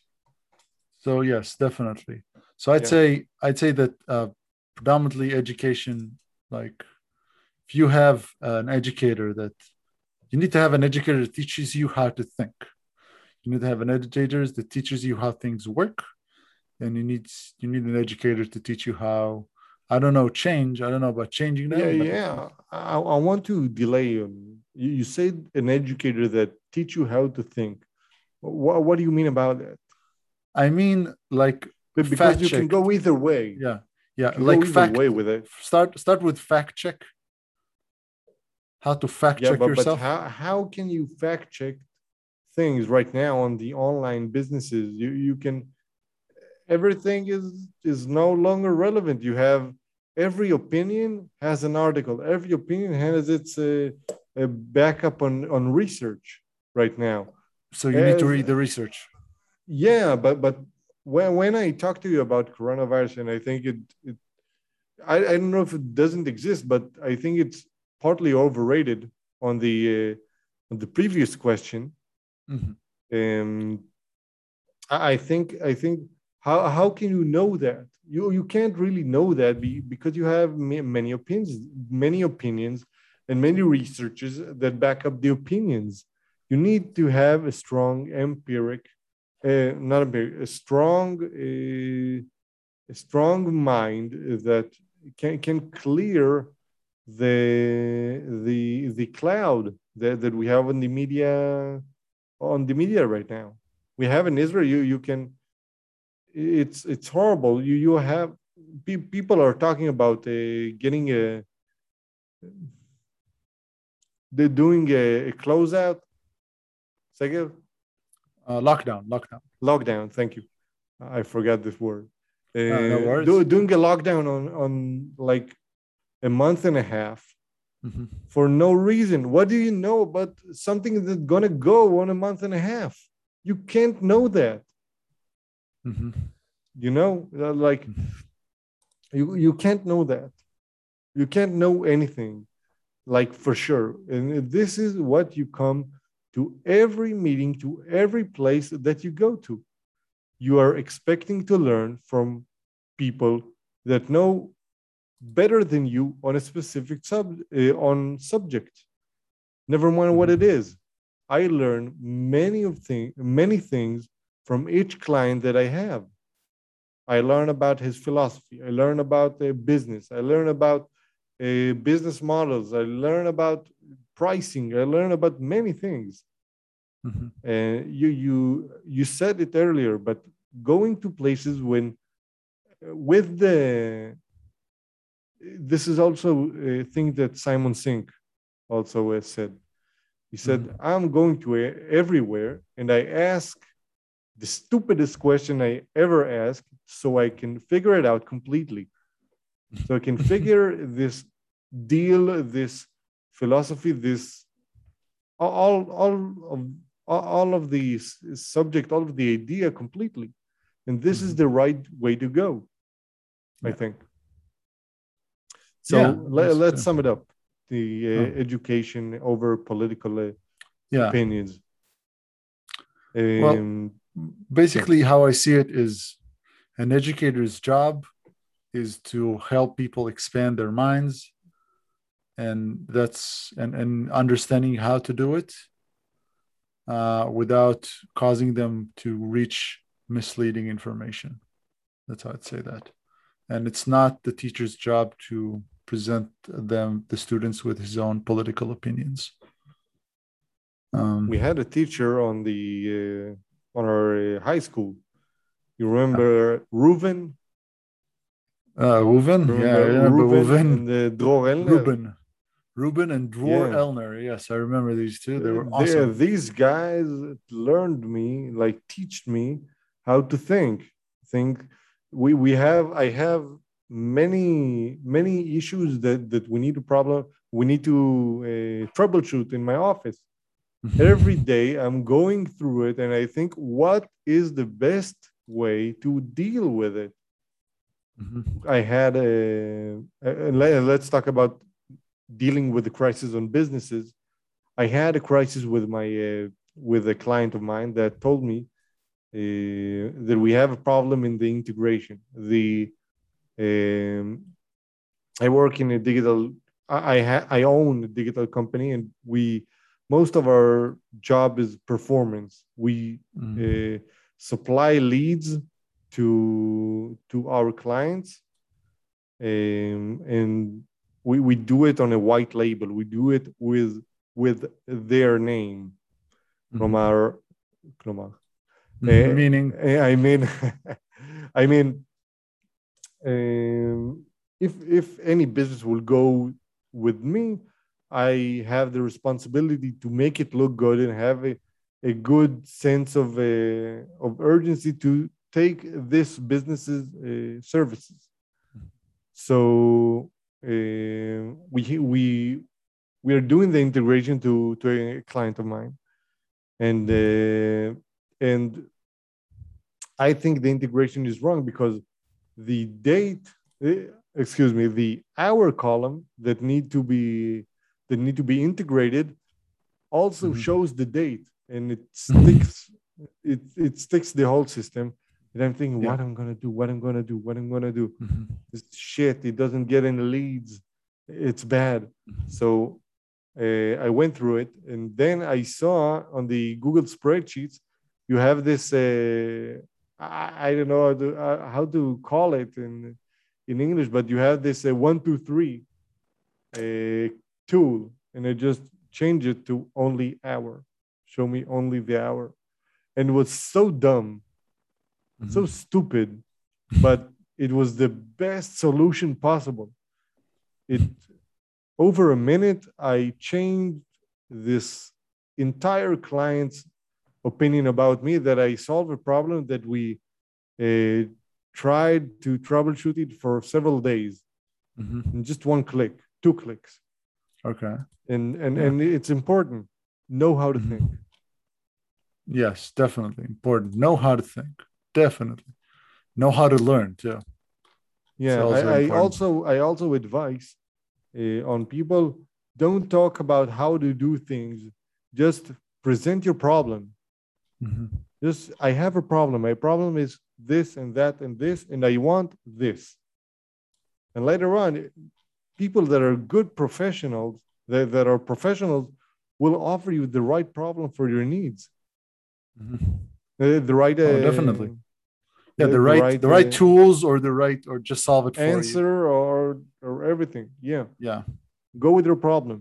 So yes, definitely. So I'd Yeah. say I'd say that uh, predominantly education, like if you have an educator that you need to have an educator that teaches you how to think. You need to have an educator that teaches you how things work, and you need you need an educator to teach you how. I don't know change. I don't know about changing Yeah, them, but yeah. I, I want to delay on you. You said an educator that teach you how to think. What, what do you mean about that? I mean like But because fact you can check. go either way. Yeah, You yeah, can go like either fact. way with it. Start start with fact check. How to fact Yeah, check but but yourself. how how can you fact check things right now on the online businesses? You you can everything is is no longer relevant. You have every opinion has an article. Every opinion has its uh, a backup on on research right now. So you need to As read the research. yeah, but but when when I talk to you about coronavirus, and I think it, it I, I don't know if it doesn't exist, but I think it's partly overrated on the uh, on the previous question. Mhm. Um, I I think I think how how can you know that? You you can't really know that be, because you have ma- many opinions, many opinions, and many researches that back up the opinions. You need to have a strong empiric, uh, not empiric, a strong uh, a strong mind that can can clear the the the cloud that, that we have on the media on the media right now. We have in Israel. You you can it's it's horrible. You you have pe- people are talking about uh, getting a they're doing a, a closeout. Second Uh, lockdown, lockdown. lockdown. Thank you. I forgot this word. Uh, no Uh, do, worries. doing a lockdown on on like a month and a half Mhm. for no reason. What do you know about something that's gonna go on a month and a half? You can't know that. Mhm. You know, like you you can't know that. You can't know anything like for sure. And this is what you come to every meeting, to every place that you go to. You are expecting to learn from people that know better than you on a specific sub uh, on subject. Never mind what it Mhm. is. I learn many of things, many things from each client that I have. I learn about his philosophy. I learn about the business. I learn about uh, business models. I learn about pricing. I learn about many things. Mhm. And you you you said it earlier, but going to places when with the this is also a thing that Simon Sink also uh, said. He said, Mhm. "I'm going to uh, everywhere, and I ask the stupidest question I ever ask, so I can figure it out completely." So I can figure this deal, this philosophy, this all all of all of the subject, all of the idea completely. And this is Mhm. the right way to go, I Yeah, think. So yeah, let, that's let's too. sum it up: the Oh, uh, education over political uh, yeah. opinions. Well, Um, yeah, basically, how I see it is an educator's job is to help people expand their minds, and that's and, and understanding how to do it uh, without causing them to reach misleading information. That's how I'd say that. And it's not the teacher's job to present them, the students, with his own political opinions. we Um, had a teacher on the uh, on our uh, high school. You remember Reuven? Uh, Reuven? Yeah, I Remember remember Reuven Reuven. and uh, Dror Elner? Ruben. Ruben and Dror Yeah. Elner. Yes, I remember these two. They Uh, were they, awesome. these guys learned me, like, teach me how to think. Think. We we have. I have many many issues that that we need to problem. We need to uh, troubleshoot in my office. Every day I'm going through it, and I think, what is the best way to deal with it? Mhm. I had a, a let- let's talk about dealing with the crisis on businesses. I had a crisis with my uh, with a client of mine that told me uh, that we have a problem in the integration. The um, I work in a digital. I I, ha- I own a digital company, and we most of our job is performance. We Mhm. uh, supply leads to to our clients, um, and we, we do it on a white label. We do it with with their name. Mhm. כלומר, כלומר, uh, Meaning. I mean, I mean, um, if if any business will go with me, I have the responsibility to make it look good and have a, a good sense of uh, of urgency to take this business's uh, services. So uh, we we we are doing the integration to to a client of mine, and uh, and I think the integration is wrong because the date, eh, excuse me, the hour column that need to be that need to be integrated also Mhm. shows the date, and it sticks it it sticks the whole system. And I'm thinking, Yeah. what I'm gonna do, what I'm gonna do, what I'm gonna do. Mhm. This shit, it doesn't get any leads. It's bad. So uh, I went through it, and then I saw on the Google spreadsheets, you have this. Uh, I, I don't know how to, uh, how to call it in in English, but you have this uh, one two three uh, tool, and I just change it to only hour. Show me only the hour, and it was so dumb, so Mhm. stupid, but it was the best solution possible. It over a minute, I changed this entire client's opinion about me, that I solved a problem that we uh, tried to troubleshoot it for several days Mhm. in just one click, two clicks. Okay. And, and, Yeah. and it's important. Know how to think. Mhm. Yes, definitely important. Know how to think. Definitely. Know how to learn too. It's Yeah, also I, I important. also I also advise uh, on people, don't talk about how to do things. Just present your problem. Mhm. Just, I have a problem. My problem is this and that and this, and I want this. And later on, people that are good professionals, that, that are professionals, will offer you the right problem for your needs, Mhm. uh, the right, Oh, uh, definitely. Yeah, the, the the right right the right uh, tools or the right or just solve it for you. answer, or or everything. Yeah, Yeah. go with your problem.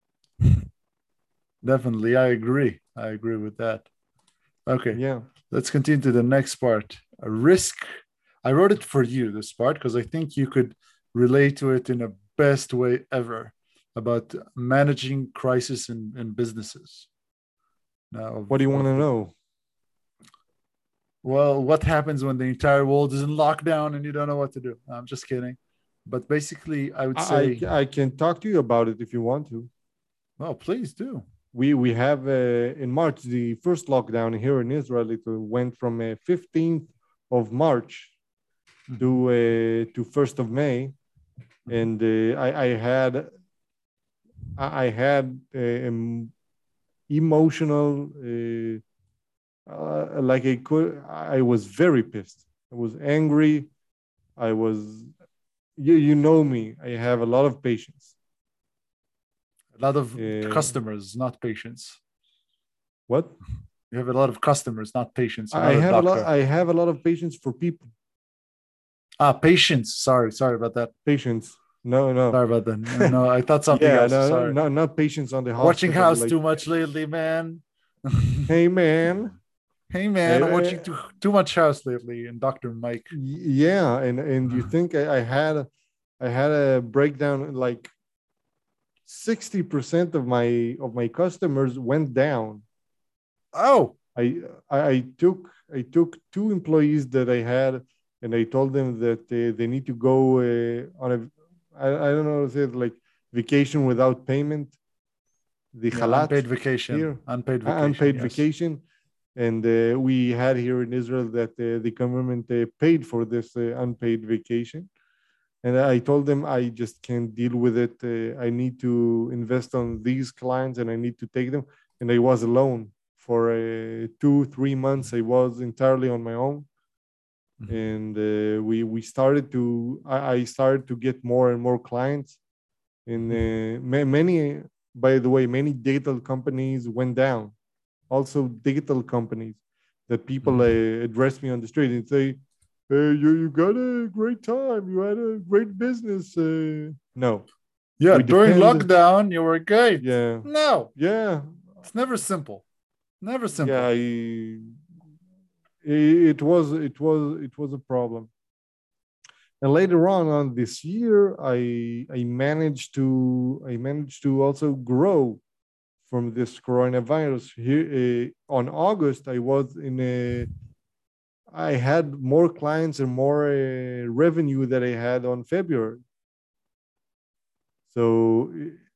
Definitely. I agree. I agree with that. Okay. Yeah. Let's continue to the next part. A risk. I wrote it for you, this part, because I think you could relate to it in a best way ever about managing crisis in, in businesses. Now, What do of, you want of to the, know? well, what happens when the entire world is in lockdown and you don't know what to do? I'm just kidding. But basically, I would I, say, I can talk to you about it if you want to. well, please do. We we have uh, in March the first lockdown here in Israel. It went from uh, fifteenth of March to Mhm. uh, to first of May, Mhm. and uh, I, I had I had uh, um, emotional uh, uh, like I could I was very pissed. I was angry. I was you you know me. I have a lot of patience. A lot of Uh, customers, not patients. what? You have a lot of customers, not patients. You're I not a have a lot. doctor. I have a lot of patience for people. Ah, patience. Sorry, sorry about that. Patience. No, no. Sorry about that. No, no, I thought something Yeah, else. no, no, Sorry. not not patients on the Watching hospital. House Like, too much lately, man. hey man, Hey man, I'm watching too, too much House lately, and Doctor Mike. Yeah, and and you think I, I had I had a breakdown, like sixty percent of my of my customers went down. Oh, I, I I took I took two employees that I had, and I told them that uh, they need to go uh, on a I, I don't know, say it like vacation without payment, the yeah, halat unpaid vacation, here, unpaid uh, vacation. unpaid Yes. vacation. And uh, we had here in Israel that uh, the government uh, paid for this uh, unpaid vacation. And I told them I just can't deal with it. Uh, I need to invest on these clients and I need to take them. And I was alone for uh, two, three months. I was entirely on my own. Mhm. And uh, we we started to I, I started to get more and more clients. And uh, ma- many, by the way, many digital companies went down. Also, digital companies that people Mhm. uh, address me on the street and say, "Hey, you you got a great time. You had a great business." Uh, no, Yeah, we during depend. lockdown, you were great. Yeah, No, yeah, it's never simple. Never yeah. simple. I, it was it was it was a problem. And later on on this year, I I managed to I managed to also grow from this coronavirus. Here uh, on August, I was in a I had more clients and more uh, revenue that I had on February. So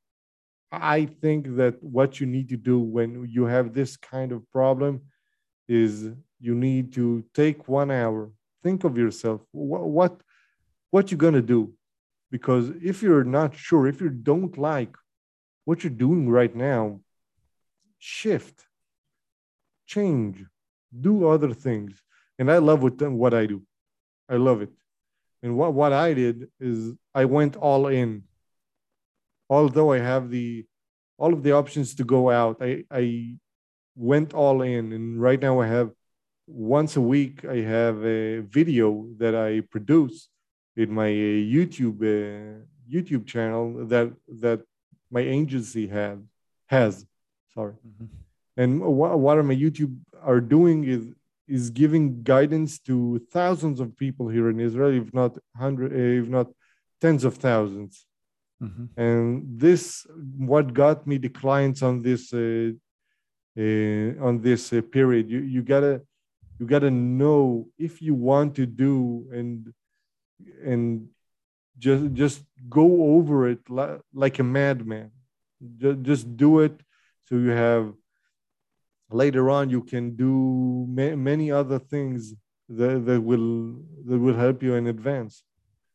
I think that what you need to do when you have this kind of problem is you need to take one hour, think of yourself, what what, what you're gonna do, because if you're not sure, if you don't like what you're doing right now, shift, change, do other things. And I love what what I do. I love it. And what what I did is I went all in. Although I have the all of the options to go out, I I went all in. And right now I have once a week I have a video that I produce in my uh, YouTube uh, YouTube channel that that my agency had has. Sorry. Mhm. And what, what my YouTube are doing is is giving guidance to thousands of people here in Israel, if not hundred, if not tens of thousands. Mhm. And this, what got me the clients on this uh, uh, on this uh, period. You you gotta you gotta know if you want to do and and just just go over it li- like a madman. Just, just do it so you have later on you can do ma- many other things that, that will that will help you in advance.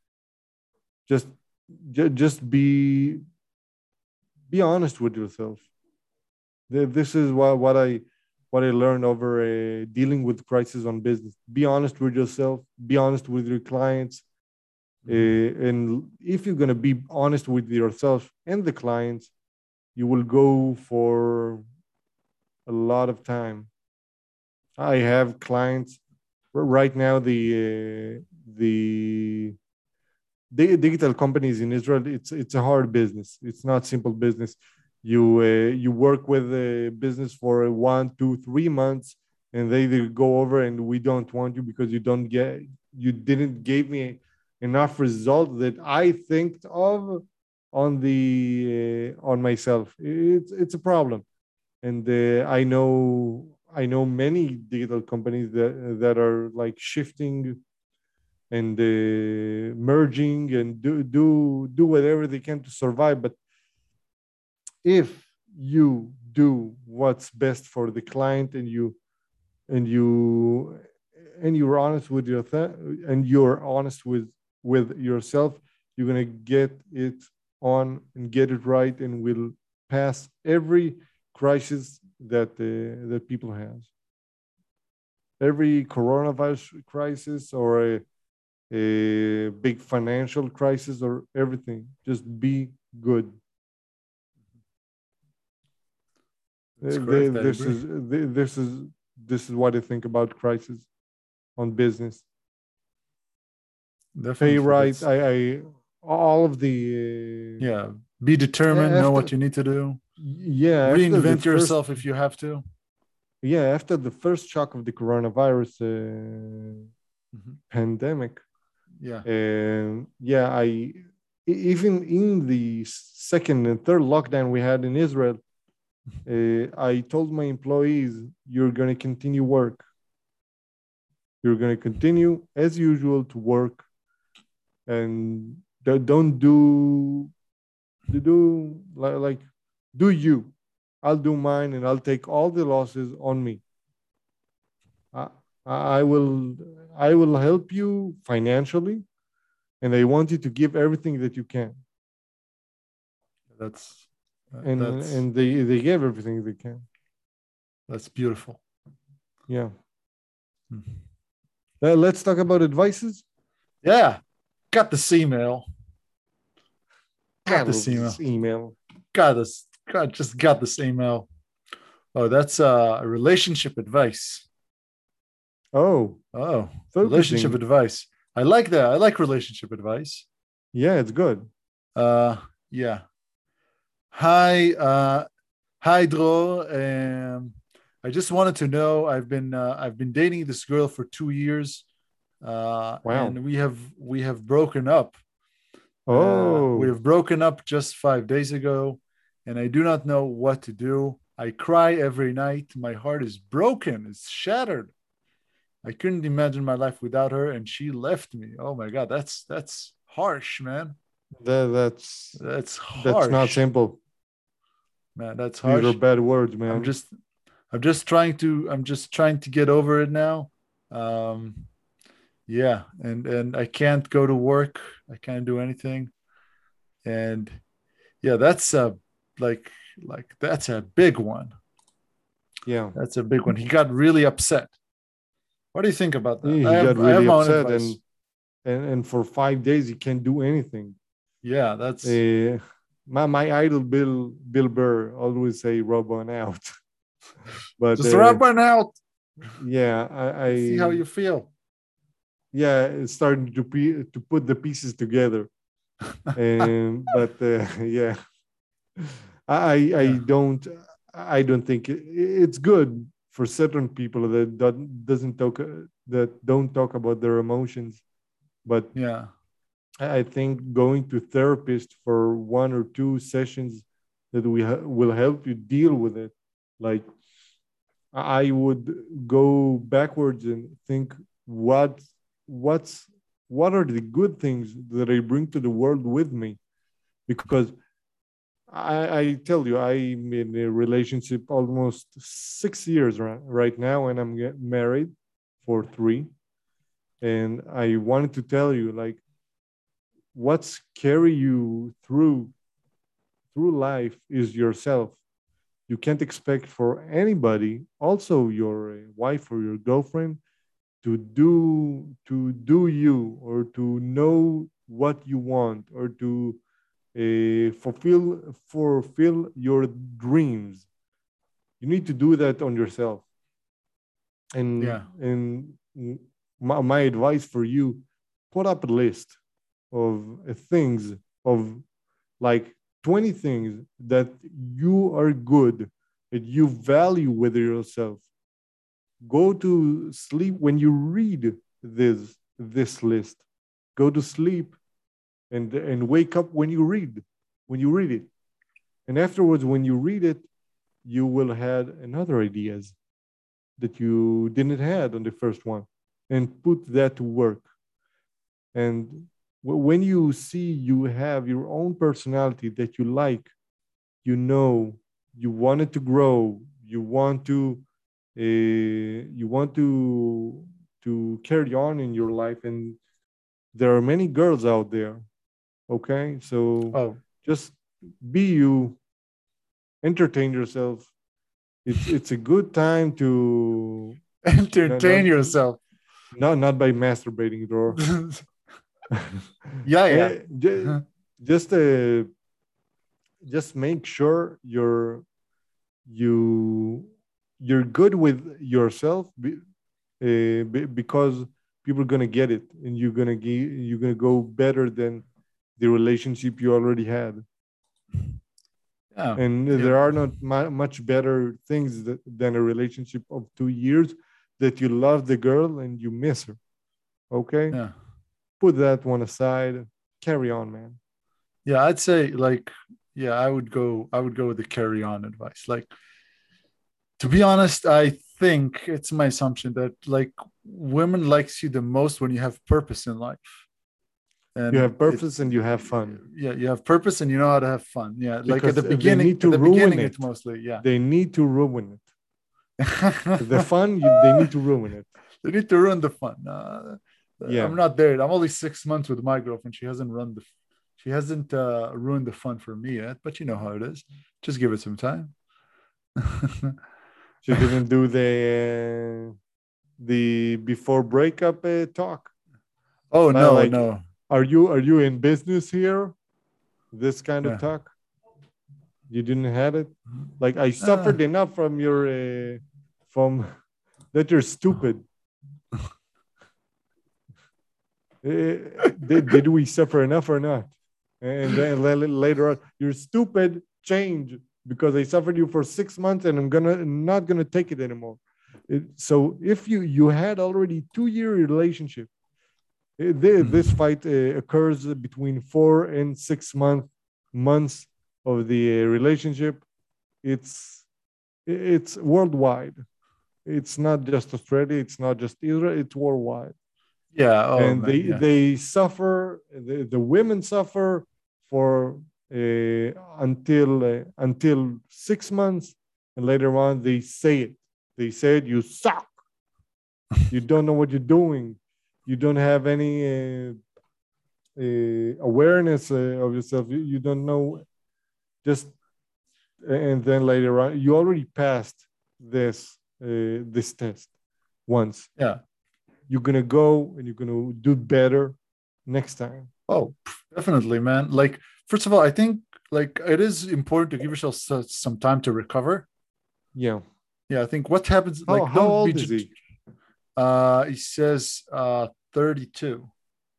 Just ju- just be be honest with yourself. This is what, what I what I learned over uh, dealing with crisis on business. Be honest with yourself. Be honest with your clients. Mhm. Uh, and if you're going to be honest with yourself and the clients, you will go for a lot of time. I have clients right now. The uh, the di- digital companies in Israel, it's it's a hard business. It's not simple business. You uh, you work with a business for one, two, three months, and they either go over and we don't want you because you don't get you didn't give me enough result that I think of on the uh, on myself. It's it's a problem, and uh, I know I know many digital companies that that are like shifting and uh, merging and do do do whatever they can to survive. But if you do what's best for the client and you and you and you're honest with your th- and you're honest with with yourself, you're gonna get it on and get it right, and will pass every crisis that uh, that people have, every coronavirus crisis or a a big financial crisis or everything. Just be good. That's Uh, the- correct. I This agree. is the- this is this is what I think about crisis on business. Pay Definitely. right. That's I, I all of the yeah. Be uh, determined. Know what after you need to do. yeah after the Reinvent first yourself if you have to. yeah, after the first shock of the coronavirus uh, Mhm. pandemic, Yeah. and yeah, I e- even in the second and third lockdown we had in Israel, uh, I told my employees, "You're going to continue work. You're going to continue as usual to work, and don't don't do do like, like do you. I'll do mine, and I'll take all the losses on me. I, I will I will help you financially, and I want you to give everything that you can." That's uh, And that's and they they gave everything they can. that's beautiful. Yeah. Mhm. Uh, let's talk about advices. Yeah. Got this email. I Got this love this email. email. Got this. God, just got this email. Oh, that's uh relationship advice. Oh, Oh, relationship focusing. advice. I like that. I like relationship advice. Yeah, it's good. Uh yeah. Hi, uh hi Dro. Um I just wanted to know I've been uh, I've been dating this girl for two years. Uh Wow. and we have we have broken up. Uh we Oh, have broken up just five days ago and I do not know what to do. I cry every night. My heart is broken. It's shattered. I couldn't imagine my life without her, and she left me. Oh my god, that's that's harsh, man. that that's That's that's not harsh, simple. man. That's These are harsh. bad words, I'm man. just, I'm just trying to, I'm just trying to get over it now. Um, yeah, and and I can't go to work. I can't do anything, and yeah, that's a like like that's a big one. Yeah. That's a big one. He got really upset. What do you think about that? He, I he got have I have really my own upset, advice. and and and for five days he can't do anything. Yeah, that's Uh, my my idol Bill Bill Burr always say rub on out, but just uh, rub one out. yeah, I, Let's see how I you feel. yeah, it's starting to be to put the pieces together. And but uh, yeah, I I Yeah, don't I don't think it, it's good for certain people that don't, doesn't talk that don't talk about their emotions. But yeah, I think going to therapist for one or two sessions that we ha- will help you deal with it. Like I would go backwards and think what what's what are the good things that I bring to the world with me? Because I, I tell you, I'm in a relationship almost six years right, right now, and I'm get married for three. And I wanted to tell you, like, what's carry you through through life is yourself. You can't expect for anybody, also your uh, wife or your girlfriend, to do to do you or to know what you want or to uh, fulfill fulfill your dreams. You need to do that on yourself. And yeah, and my, my advice for you: put up a list of uh, things of like twenty things that you are good, that you value with yourself. Go to sleep when you read this this list. Go to sleep and and wake up when you read when you read it. And afterwards, when you read it, you will have another ideas that you didn't had on the first one, and put that to work. And when you see you have your own personality that you like, you know, you want it to grow, you want to uh, you want to to carry on in your life, and there are many girls out there. Okay, so oh, just be you, entertain yourself. It's it's a good time to not not entertain yourself. not, not by masturbating, drawer. Yeah, yeah. Eh, ju- just uh, just make sure you're you you're good with yourself, be, uh, be, because people are gonna get it, and you're gonna ge- you're gonna go better than the relationship you already had. Yeah. And Yeah. there are not mu- much better things that, than a relationship of two years that you love the girl and you miss her. Okay, Yeah. put that one aside. Carry on, man. Yeah. I'd say like, yeah, I would go, I would go with the carry on advice. Like, to be honest, I think it's my assumption that like women likes you the most when you have purpose in life. You And have it's purpose and you have fun yeah, you have purpose and you know how to have fun. Yeah. Like at because the they beginning, need at to the ruin beginning, it. it's mostly, yeah. They need to ruin it. The fun, you, they need to ruin it. They need to ruin the fun. Uh, Yeah. I'm not there. I'm only six months with my girlfriend. She hasn't run the, she hasn't uh, ruined the fun for me yet. But you know how it is. Just give it some time. She didn't do the uh, the before breakup uh, talk. Oh Uh, no, like, no. are you are you in business here? This kind of Yeah. talk. You didn't have it. Like I Uh, suffered enough from your uh, from that you're stupid. Uh, did, did we suffer enough or not? And then later on, you're stupid. Change because I suffered you for six months, and I'm gonna not gonna take it anymore. It, so if you you had already two year relationship, it, this fight uh, occurs between four and six month months of the uh, relationship. It's it's worldwide. It's not just Australia. It's not just Israel. It's worldwide. yeah. Oh And man. they Yeah. they suffer. The, the women suffer for uh, until uh, until six months, and later on they say it. They said you suck. You don't know what you're doing. You don't have any uh, uh, awareness uh, of yourself. You, you don't know. Just and then later on, you already passed this uh, this test once. Yeah. You're gonna go and you're gonna do better next time. Oh, definitely, man. Like, first of all, I think like it is important to give yourself some time to recover. Yeah. Yeah, I think what happens, How like, how don't be. old is he? Uh, he says uh thirty-two.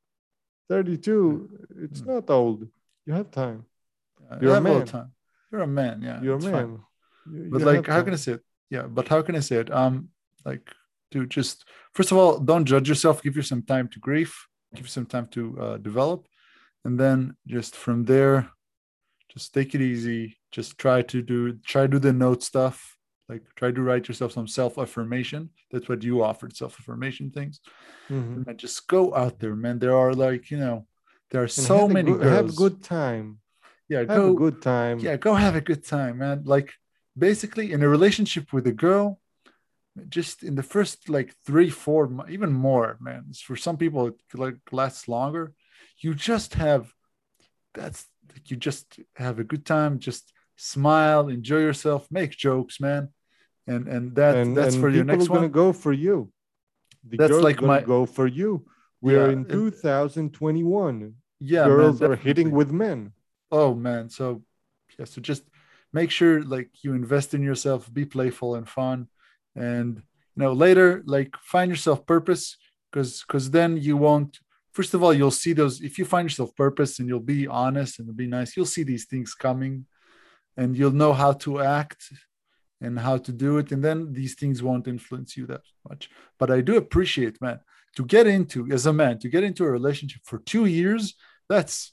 thirty-two. It's not old. You have time. Uh, You're you a have a little man. time. You're a man. Yeah, You're a it's fine. man. You, But you like, have how can I time. say it? Yeah, but how can I say it? Um, like, dude, just first of all, don't judge yourself. Give you some time to grieve. Give you some time to uh, develop, and then just from there, just take it easy. Just try to do try to do the note stuff. Like, try to write yourself some self affirmation. That's what you offered, self affirmation things. Mhm. And then just go out there, man. There are like, you know, there are And so have a many good have a girls. good time. Yeah, Have a go. good time. Yeah, go have a good time, man. Like, basically, in a relationship with a girl, just in the first like three, four, even more, man. For some people, it like lasts longer. You just have that's you just have a good time. Just smile, enjoy yourself, make jokes, man. And and that And that's for and your people are next gonna one. go for you. The That's girl's like gonna my go for you. We are yeah, in and two thousand twenty-one. yeah, man, Girls are hitting definitely. with men. Oh man, so yeah, so just make sure like you invest in yourself, be playful and fun, and you know later like find yourself purpose because because then you won't. First of all, you'll see those if you find yourself purpose and you'll be honest and be nice. You'll see these things coming, and you'll know how to act and how to do it, and then these things won't influence you that much. But I do appreciate, man, to get into as a man to get into a relationship for two years. That's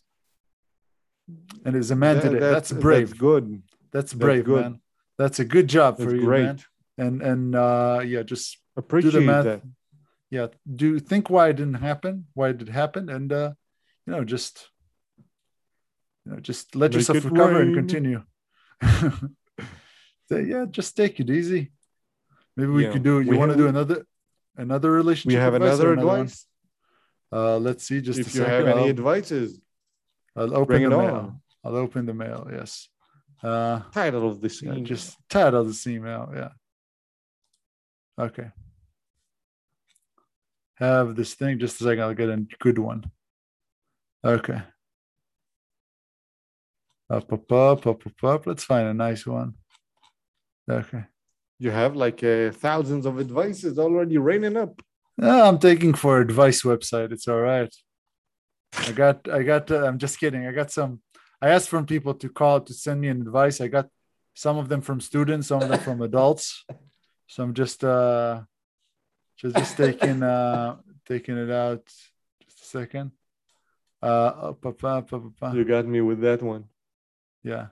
and as a man That, today, that's that's that's brave. good. That's That's brave, good. man. That's a good job That's for you, man. great. And and uh yeah, just do the Appreciate math. that. Yeah, do think why it didn't happen, why it did happen, and uh, you know, just you know, just let Make yourself it recover and rain. continue. So yeah, just take it easy. Maybe we Yeah. could do. You We want have to do we, another another we relationship have advice or another another one? advice. Uh, let's see. Just a If you have second. any I'll advices, I'll open bring the it mail. on. I'll open the mail. Yes. Uh, Title of this yeah, email. just title this email. Yeah. Okay. Have this thing just a second. I'll get a good one. Okay. Up, up, up, up, up, up. Let's find a nice one. Okay. You have like uh, thousands of advices already raining up. No, I'm taking for advice website. It's all right. I got, I got, uh, I'm just kidding. I got some, I asked from people to call to send me an advice. I got some of them from students, some of them from adults. So I'm just uh just just taking uh taking it out. Just a second. Uh, oh, pa, pa, pa, pa, pa. You got me with that one. Yeah.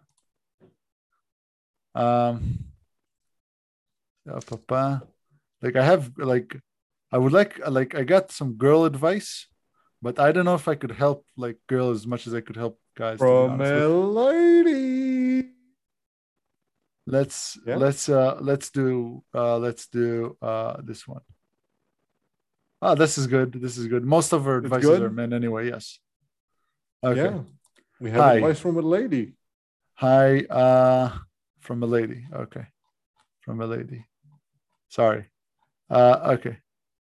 Um. uh, pa, pa. Like I have like I would like like I got some girl advice, but I don't know if I could help like girls as much as I could help guys. To be From honest, a Let- lady. let's Yeah. let's uh let's do uh let's do uh this one. Ah, this is good. This is good. Most of our It's advices are good. men anyway. Yes. Okay. Yeah. We have Hi. advice from a lady. Hi. Uh, from a lady. Okay. From a lady. Sorry. Uh, okay.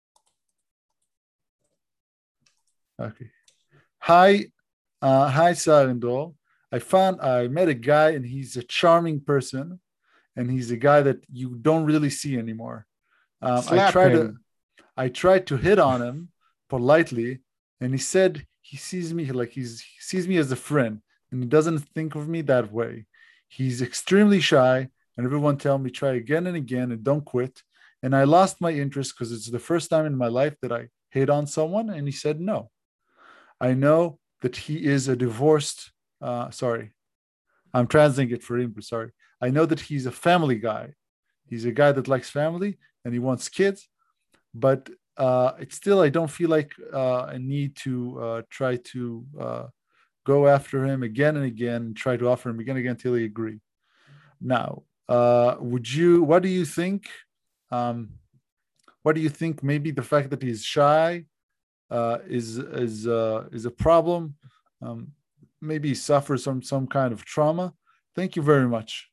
Okay. Hi. Uh, hi, Sarindol. I found I met a guy and he's a charming person and he's a guy that you don't really see anymore. Um, I Slap try to him. I tried to hit on him politely, and he said he sees me like he's he sees me as a friend, and he doesn't think of me that way. He's extremely shy, and everyone tell me try again and again and don't quit. And I lost my interest because it's the first time in my life that I hit on someone, and he said no. I know that he is a divorced. Uh, sorry, I'm translating it for him. Sorry, I know that he's a family guy. He's a guy that likes family and he wants kids, but uh, it's still I don't feel like uh, I need to uh, try to uh, go after him again and again, try to offer him again and again until he agree. Now, uh, would you? What do you think? Um, what do you think? Maybe the fact that he's shy uh, is is uh, is a problem. Um, maybe he suffers from some kind of trauma. Thank you very much.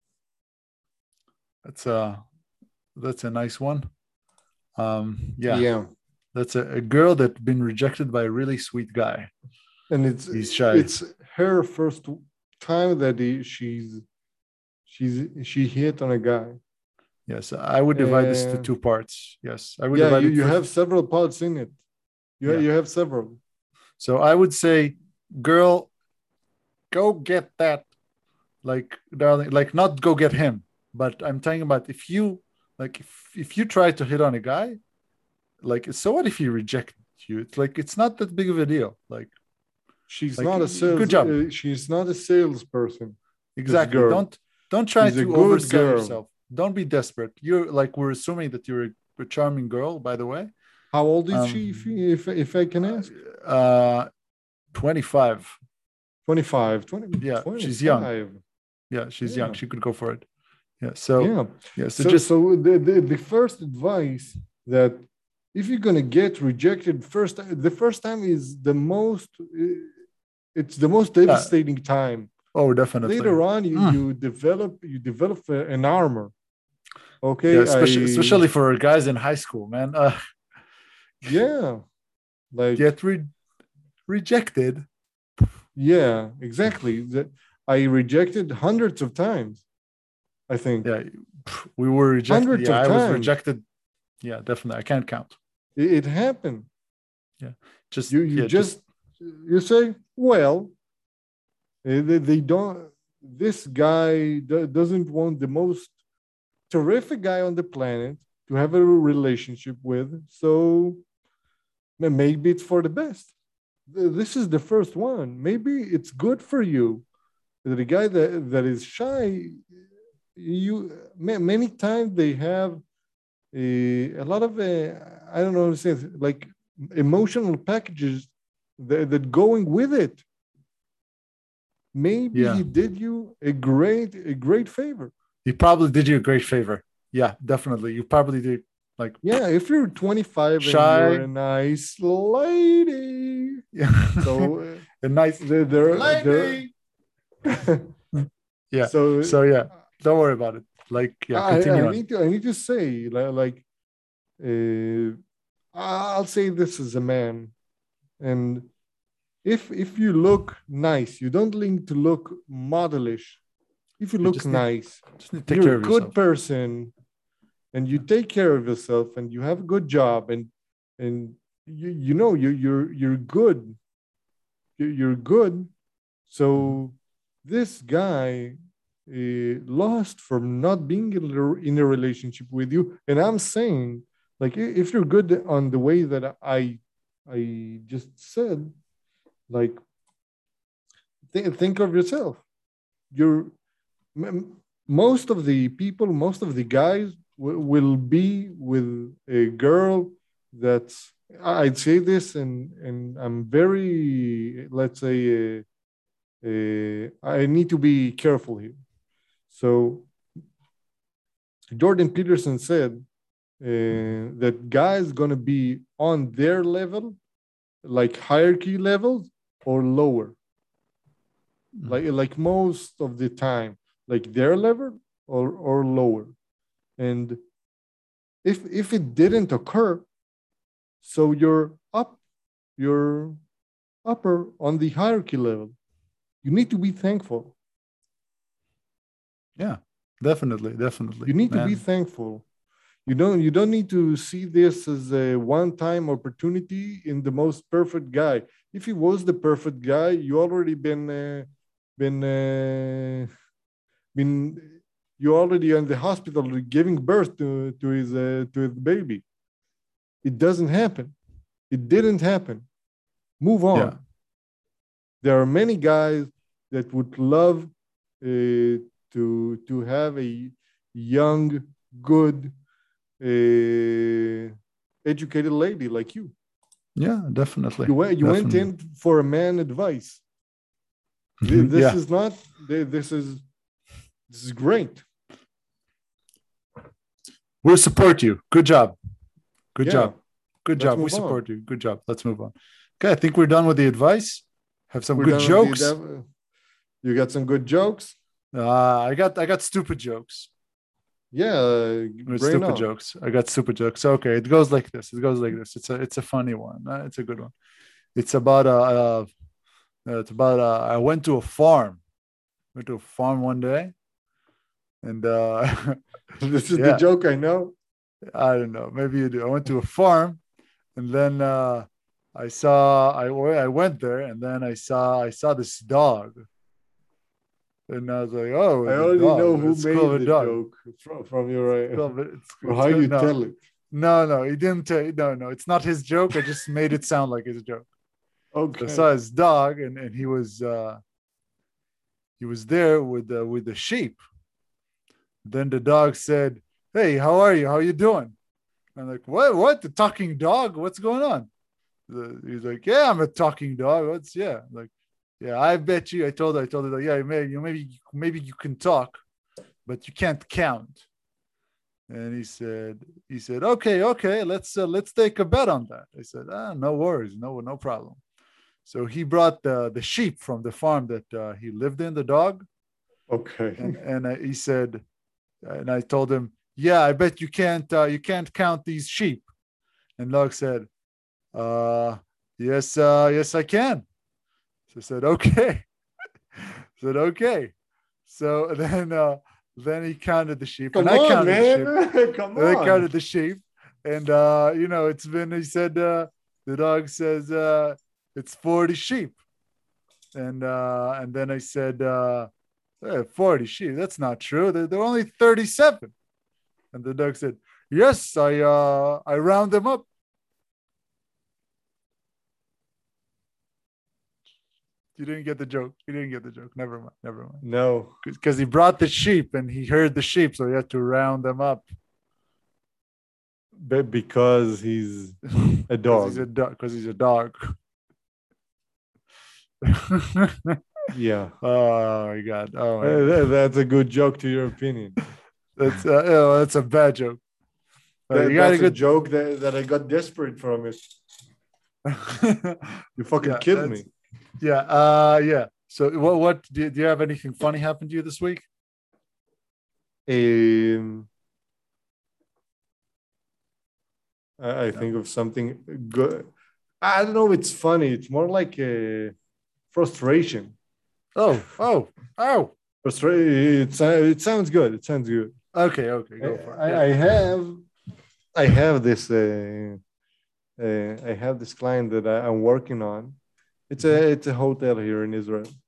That's a that's a nice one. Um, yeah, Yeah. that's a, a girl that's been rejected by a really sweet guy. And it's He's shy. it's her first time that he, she's she's she hit on a guy. Yes, I would divide this to And two parts. Yes, I would yeah, divide you, it you first. have several parts in it. You Yeah. you have several. So I would say, girl, go get that. Like, darling, like not go get him, but I'm talking about if you like if if you try to hit on a guy, like so what if he rejects you? It's like it's not that big of a deal. Like She's like not a good sales. job. Uh, she's not a salesperson. This Exactly. girl. Don't don't try She's a to good oversell girl. yourself. Don't be desperate. You're like we're assuming that you're a, a charming girl, by the way. How old is Um, she, if if, if I can ask? uh, twenty-five. twenty-five. twenty, Yeah, she's young. twenty-five. Yeah, she's young. Yeah. She could go for it. Yeah. So Yeah. yeah. So So just so the, the, the first advice that if you're gonna get rejected first, the first time is the most. uh, It's the most yeah. devastating time. Oh, definitely. Later on, you Mm. you develop you develop a- an armor. Okay, Yeah, I especially especially for guys in high school, man. Uh, yeah, like get re- rejected. yeah, exactly. That I rejected hundreds of times. I think Yeah, we were rejected. hundreds Yeah, of I was times. rejected. Yeah, definitely. I can't count. It, it happened. Yeah, just You you yeah, just, just you say, well, eh, they, they don't. This guy do- doesn't want the most terrific guy on the planet to have a relationship with, so ma- maybe it's for the best. Th- This is the first one. Maybe it's good for you. The guy that, that is shy, you ma- many times they have a, a lot of uh, I don't know how to say it, like emotional packages that, that going with it. Maybe yeah. he did you a great a great favor. He probably did you a great favor. Yeah, definitely. You probably did like Yeah, if you're twenty-five and you're shy. a nice lady, Yeah. so uh, a nice they're they're, lady. they're Yeah. so So yeah, don't worry about it. Like yeah, I, continue I on. need to I need to say li- like uh, I'll say this as a man, and if if you look nice, you don't need to look modelish. If you You look just need nice, just need to take you're care a of good yourself. person, and you take care of yourself, and you have a good job, and and you you know you you're you're good. You- You're good, Mhm. so this guy uh, lost from not being in a, in a relationship with you. And I'm saying, like, if you're good on the way that I I just said, like, th- think of yourself. You're most of the people, most of the guys w- will be with a girl that's. I'd say this, and and I'm very, let's say, uh, uh, I need to be careful here. So Jordan Peterson said uh, that guys gonna be on their level, like hierarchy levels, or lower, like like most of the time, like their level or or lower. And if if it didn't occur, so you're up, you're upper on the hierarchy level. You need to be thankful. Yeah, definitely, definitely, You need to be man. thankful. You don't you don't need to see this as a one-time opportunity in the most perfect guy. If he was the perfect guy, you already been uh, been uh, been you already in the hospital giving birth to to his uh, to his baby. It doesn't happen. It didn't happen. Move on. Yeah, There are many guys that would love uh, to to have a young, good, uh, educated lady like you. yeah, definitely, You went you went definitely. in for a man advice. This Yeah, is not. This is this is great. we'll support you. Good job, good Yeah. job, good Let's job. We move on. support you. Good job. Let's move on. Okay, I think we're done with the advice. Have some We're good done with the. jokes. Dev- you got some good jokes. Uh, I got, I got stupid jokes. Yeah, uh, With bring it stupid on. jokes. I got stupid jokes. Okay, it goes like this. It goes like this. It's a, it's a funny one. Uh, it's a good one. It's about a, uh, uh, it's about uh, I went to a farm. Went to a farm one day, and uh, This is the yeah, joke I know. I don't know. Maybe you do. I went to a farm, and then uh, I saw I I went there, and then I saw I saw this dog, and I was like, oh, I the already dog. know who It's cool of made a the dog. joke from, from your It's uh, cool. Of It's or it's how good. you No, tell it. no, no. He didn't. Tell, no, no. It's not his joke. I just made it sound like his joke. So I Okay. saw his dog, and, and he was uh, he was there with the with the sheep. Then the dog said, "Hey, how are you? How you doing?" I'm like, "What? What? The talking dog? What's going on?" The, he's like, "Yeah, I'm a talking dog. What's yeah?" I'm like, "Yeah, I bet you." I told her, I told her, "Yeah, maybe you maybe maybe you can talk, but you can't count." And he said, he said, "Okay, okay, let's uh, let's take a bet on that." I said, "Ah, no worries, no no problem." So he brought the the sheep from the farm that uh, he lived in, the dog, Okay. and and I, he said, and I told him, "Yeah, I bet you can't uh, you can't count these sheep." And dog said, "Uh, yes, uh, yes, I can." So I said, "Okay." I said, "Okay." So then uh, then he counted the sheep, and Come I on, counted the sheep, man. Come and I on. counted the sheep, and uh, you know, it's been. He said, uh, the dog says, uh, "It's forty sheep." And uh, and then I said, uh, "Eh, forty sheep. That's not true. They're, they're only thirty-seven." And the dog said, "Yes, I uh, I round them up." You didn't get the joke. You didn't get the joke. Never mind. Never mind. No. Because he brought the sheep and he heard the sheep, so he had to round them up. But because he's a Because he's a dog. dog. Because he's a dog. Yeah. Oh my god. Oh my god. Uh, that's a good joke to your opinion. That's uh, oh, that's a bad joke. Uh, you That, got a that's a good. joke that, that I got desperate from it. You fucking Yeah, killed that's me. yeah. Uh, yeah. So what? What do you, do you have anything funny happen to you this week? Um, I, I No. think of something good. I don't know if it's funny. It's more like a frustration. Oh. Oh. Oh. Frustration. It, it sounds good. It sounds good. Okay. Okay. I, Go for it. I, Yeah. I have I have this uh, uh, I have this client that I, I'm working on. It's a Mhm. it's a hotel here in Israel,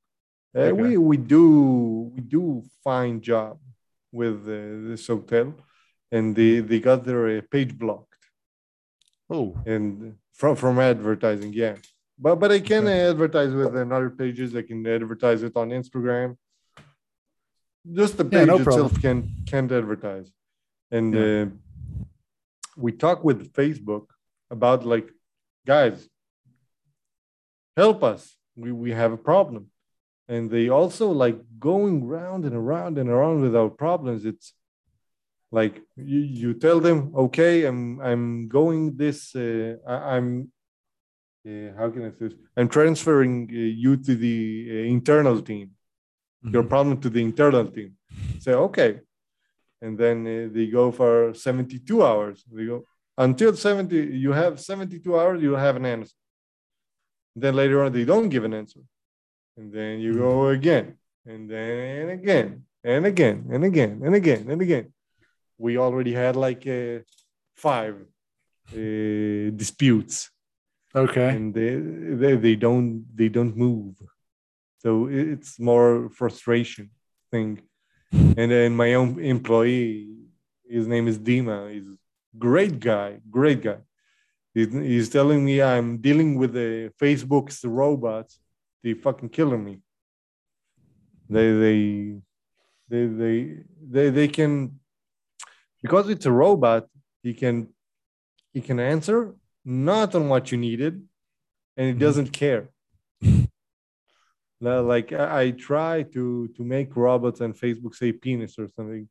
Uh, Okay. we we do we do fine job with uh, this hotel, and they Mhm. they got their uh, page blocked Oh, and from from advertising. Yeah, but but I can okay. advertise with another pages. I can advertise it on Instagram. Just the Yeah, no page problem. itself can can't advertise. And Yeah. uh, we talk with Facebook about like, guys, help us. We we have a problem. And they also like going round and around and around with our problems. It's like you, you tell them, okay, I'm I'm going this. Uh, I, I'm uh, how can I say this? I'm transferring uh, you to the uh, internal team. Your Mhm. problem to the internal team. Say okay, and then uh, they go for seventy-two hours. They go until seventy. You have seventy-two hours. You'll have an answer. Then later on, they don't give an answer, and then you Mhm. go again, and then again, and again, and again, and again, and again. We already had like uh, five uh, disputes, Okay. and they, they they don't they don't move. So it's more frustration thing. And then my own employee, his name is Dima. He's great guy, great guy. He's, he's telling me I'm dealing with the Facebook's robots. They fucking killing me. They they they they they, they can, because it's a robot. He can he can answer not on what you needed, and he Mhm. doesn't care. Like I, I try to to make robots and Facebook say penis or something,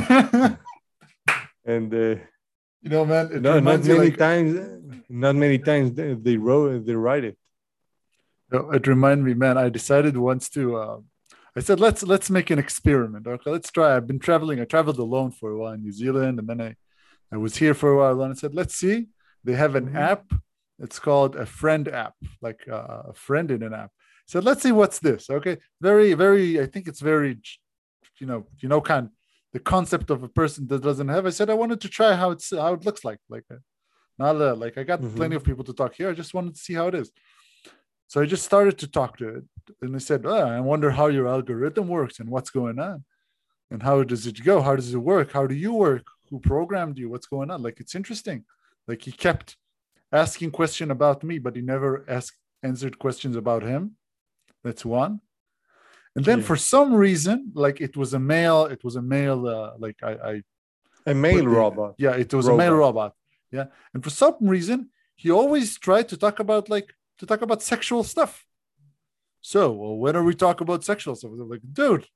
and uh, You know, man, it no, not reminds you many like times, not many times they, they wrote they write it. it reminded me, man. I decided once to. Uh, I said, let's let's make an experiment. Okay, let's try. I've been traveling. I traveled alone for a while in New Zealand, and then I I was here for a while, and I said, let's see. They have an Mm-hmm. app. It's called a friend app, like uh, a friend in an app. So let's see what's this. Okay, very very. I think it's very, you know, you know, kind the concept of a person that doesn't have. I said I wanted to try how it's how it looks like. Like uh, not uh, like I got Mm-hmm. plenty of people to talk here. I just wanted to see how it is. So I just started to talk to it, and I said, oh, I wonder how your algorithm works and what's going on, and how does it go? How does it work? How do you work? Who programmed you? What's going on? Like it's interesting. Like he kept asking question about me, but he never asked answered questions about him. That's one. And then Yeah, for some reason, like it was a male, it was a male, uh, like I, I a male put the, robot. yeah, it was a male Robot. robot. Yeah. And for some reason, he always tried to talk about like, to talk about sexual stuff. So, well, when are we talking about sexual stuff? I'm like, dude,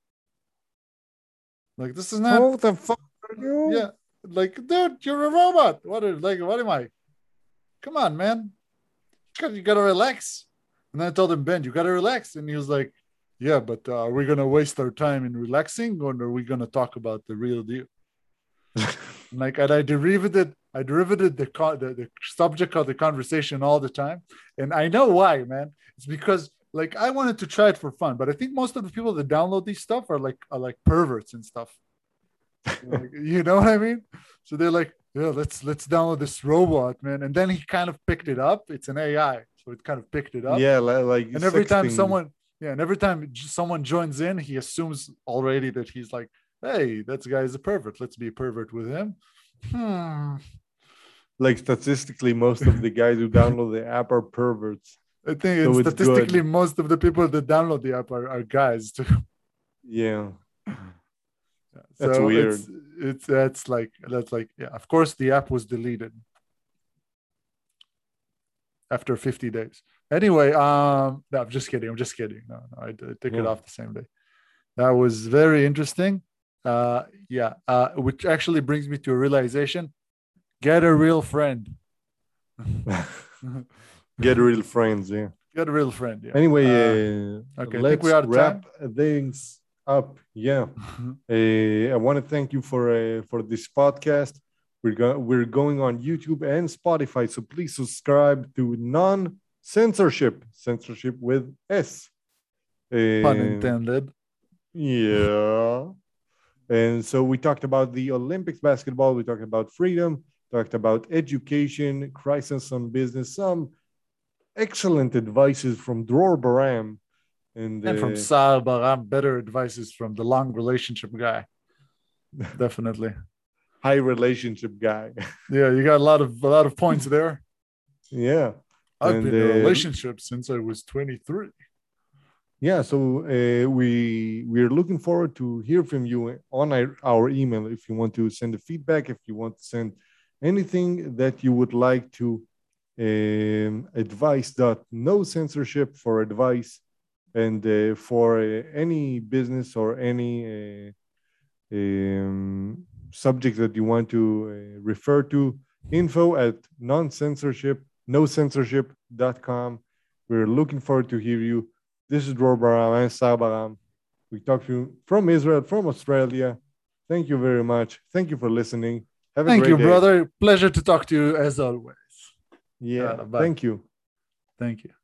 like this is not, How the fuck are you? yeah, like, dude, you're a robot. What are, like, what am I? Come on, man. You gotta, you gotta relax. And then I told him, Ben, you gotta relax. And he was like, yeah, but uh, are we gonna waste our time in relaxing, or are we gonna talk about the real deal? Like, and I derivated, I derivated the, the the subject of the conversation all the time, and I know why, man. It's because like I wanted to try it for fun, but I think most of the people that download these stuff are like are like perverts and stuff. Like, you know what I mean? So they're like, yeah, let's let's download this robot, man. And then he kind of picked it up. It's an A I, so it kind of picked it up. Yeah, like And every time sexting. someone, yeah, and every time someone joins in, he assumes already that he's like, hey, that guy is a pervert. Let's be a pervert with him. Hmm. Like statistically, most of the guys who download the app are perverts. I think, and So it's statistically, good. most of the people that download the app are, are guys too. Yeah, that's So weird. it's it's that's like that's like yeah. Of course, the app was deleted after fifty days. Anyway, um, no, I'm just kidding. I'm just kidding. No, no, I, I took it Yeah. off the same day. That was very interesting. Uh, yeah, uh, which actually brings me to a realization: get a real friend. Get real friends. Yeah. Get a real friend. Yeah. Anyway, Uh, uh, okay, I think we're let's out of wrap time. things up. Yeah. Uh, I want to thank you for uh, for this podcast. We're going we're going on YouTube and Spotify, so please subscribe to Non Censorship, censorship with S. Pun Uh, intended. yeah. And so we talked about the Olympics basketball. We talked about freedom. Talked about education, crisis on business. Some excellent advices from Dror Baram. And, And from uh, Sar Baram, better advices from the long relationship guy. Definitely. high relationship guy. Yeah, you got a lot of a lot of points there. Yeah. I've And been in a uh, relationship since I was twenty-three. yeah, so uh, we we're looking forward to hear from you on our, our email. If you want to send a feedback, if you want to send anything that you would like to, um, advice dot no censorship for advice, and uh, for uh, any business or any uh, um, subject that you want to uh, refer to, info at non-censorship no censorship dot com. We're looking forward to hear you. This is Dror Baram and Sar Baram. We talk to you from Israel, from Australia. Thank you very much. Thank you for listening. Have a Thank great you, day. brother. Pleasure to talk to you as always. Yeah, Uh, bye. thank you. Thank you.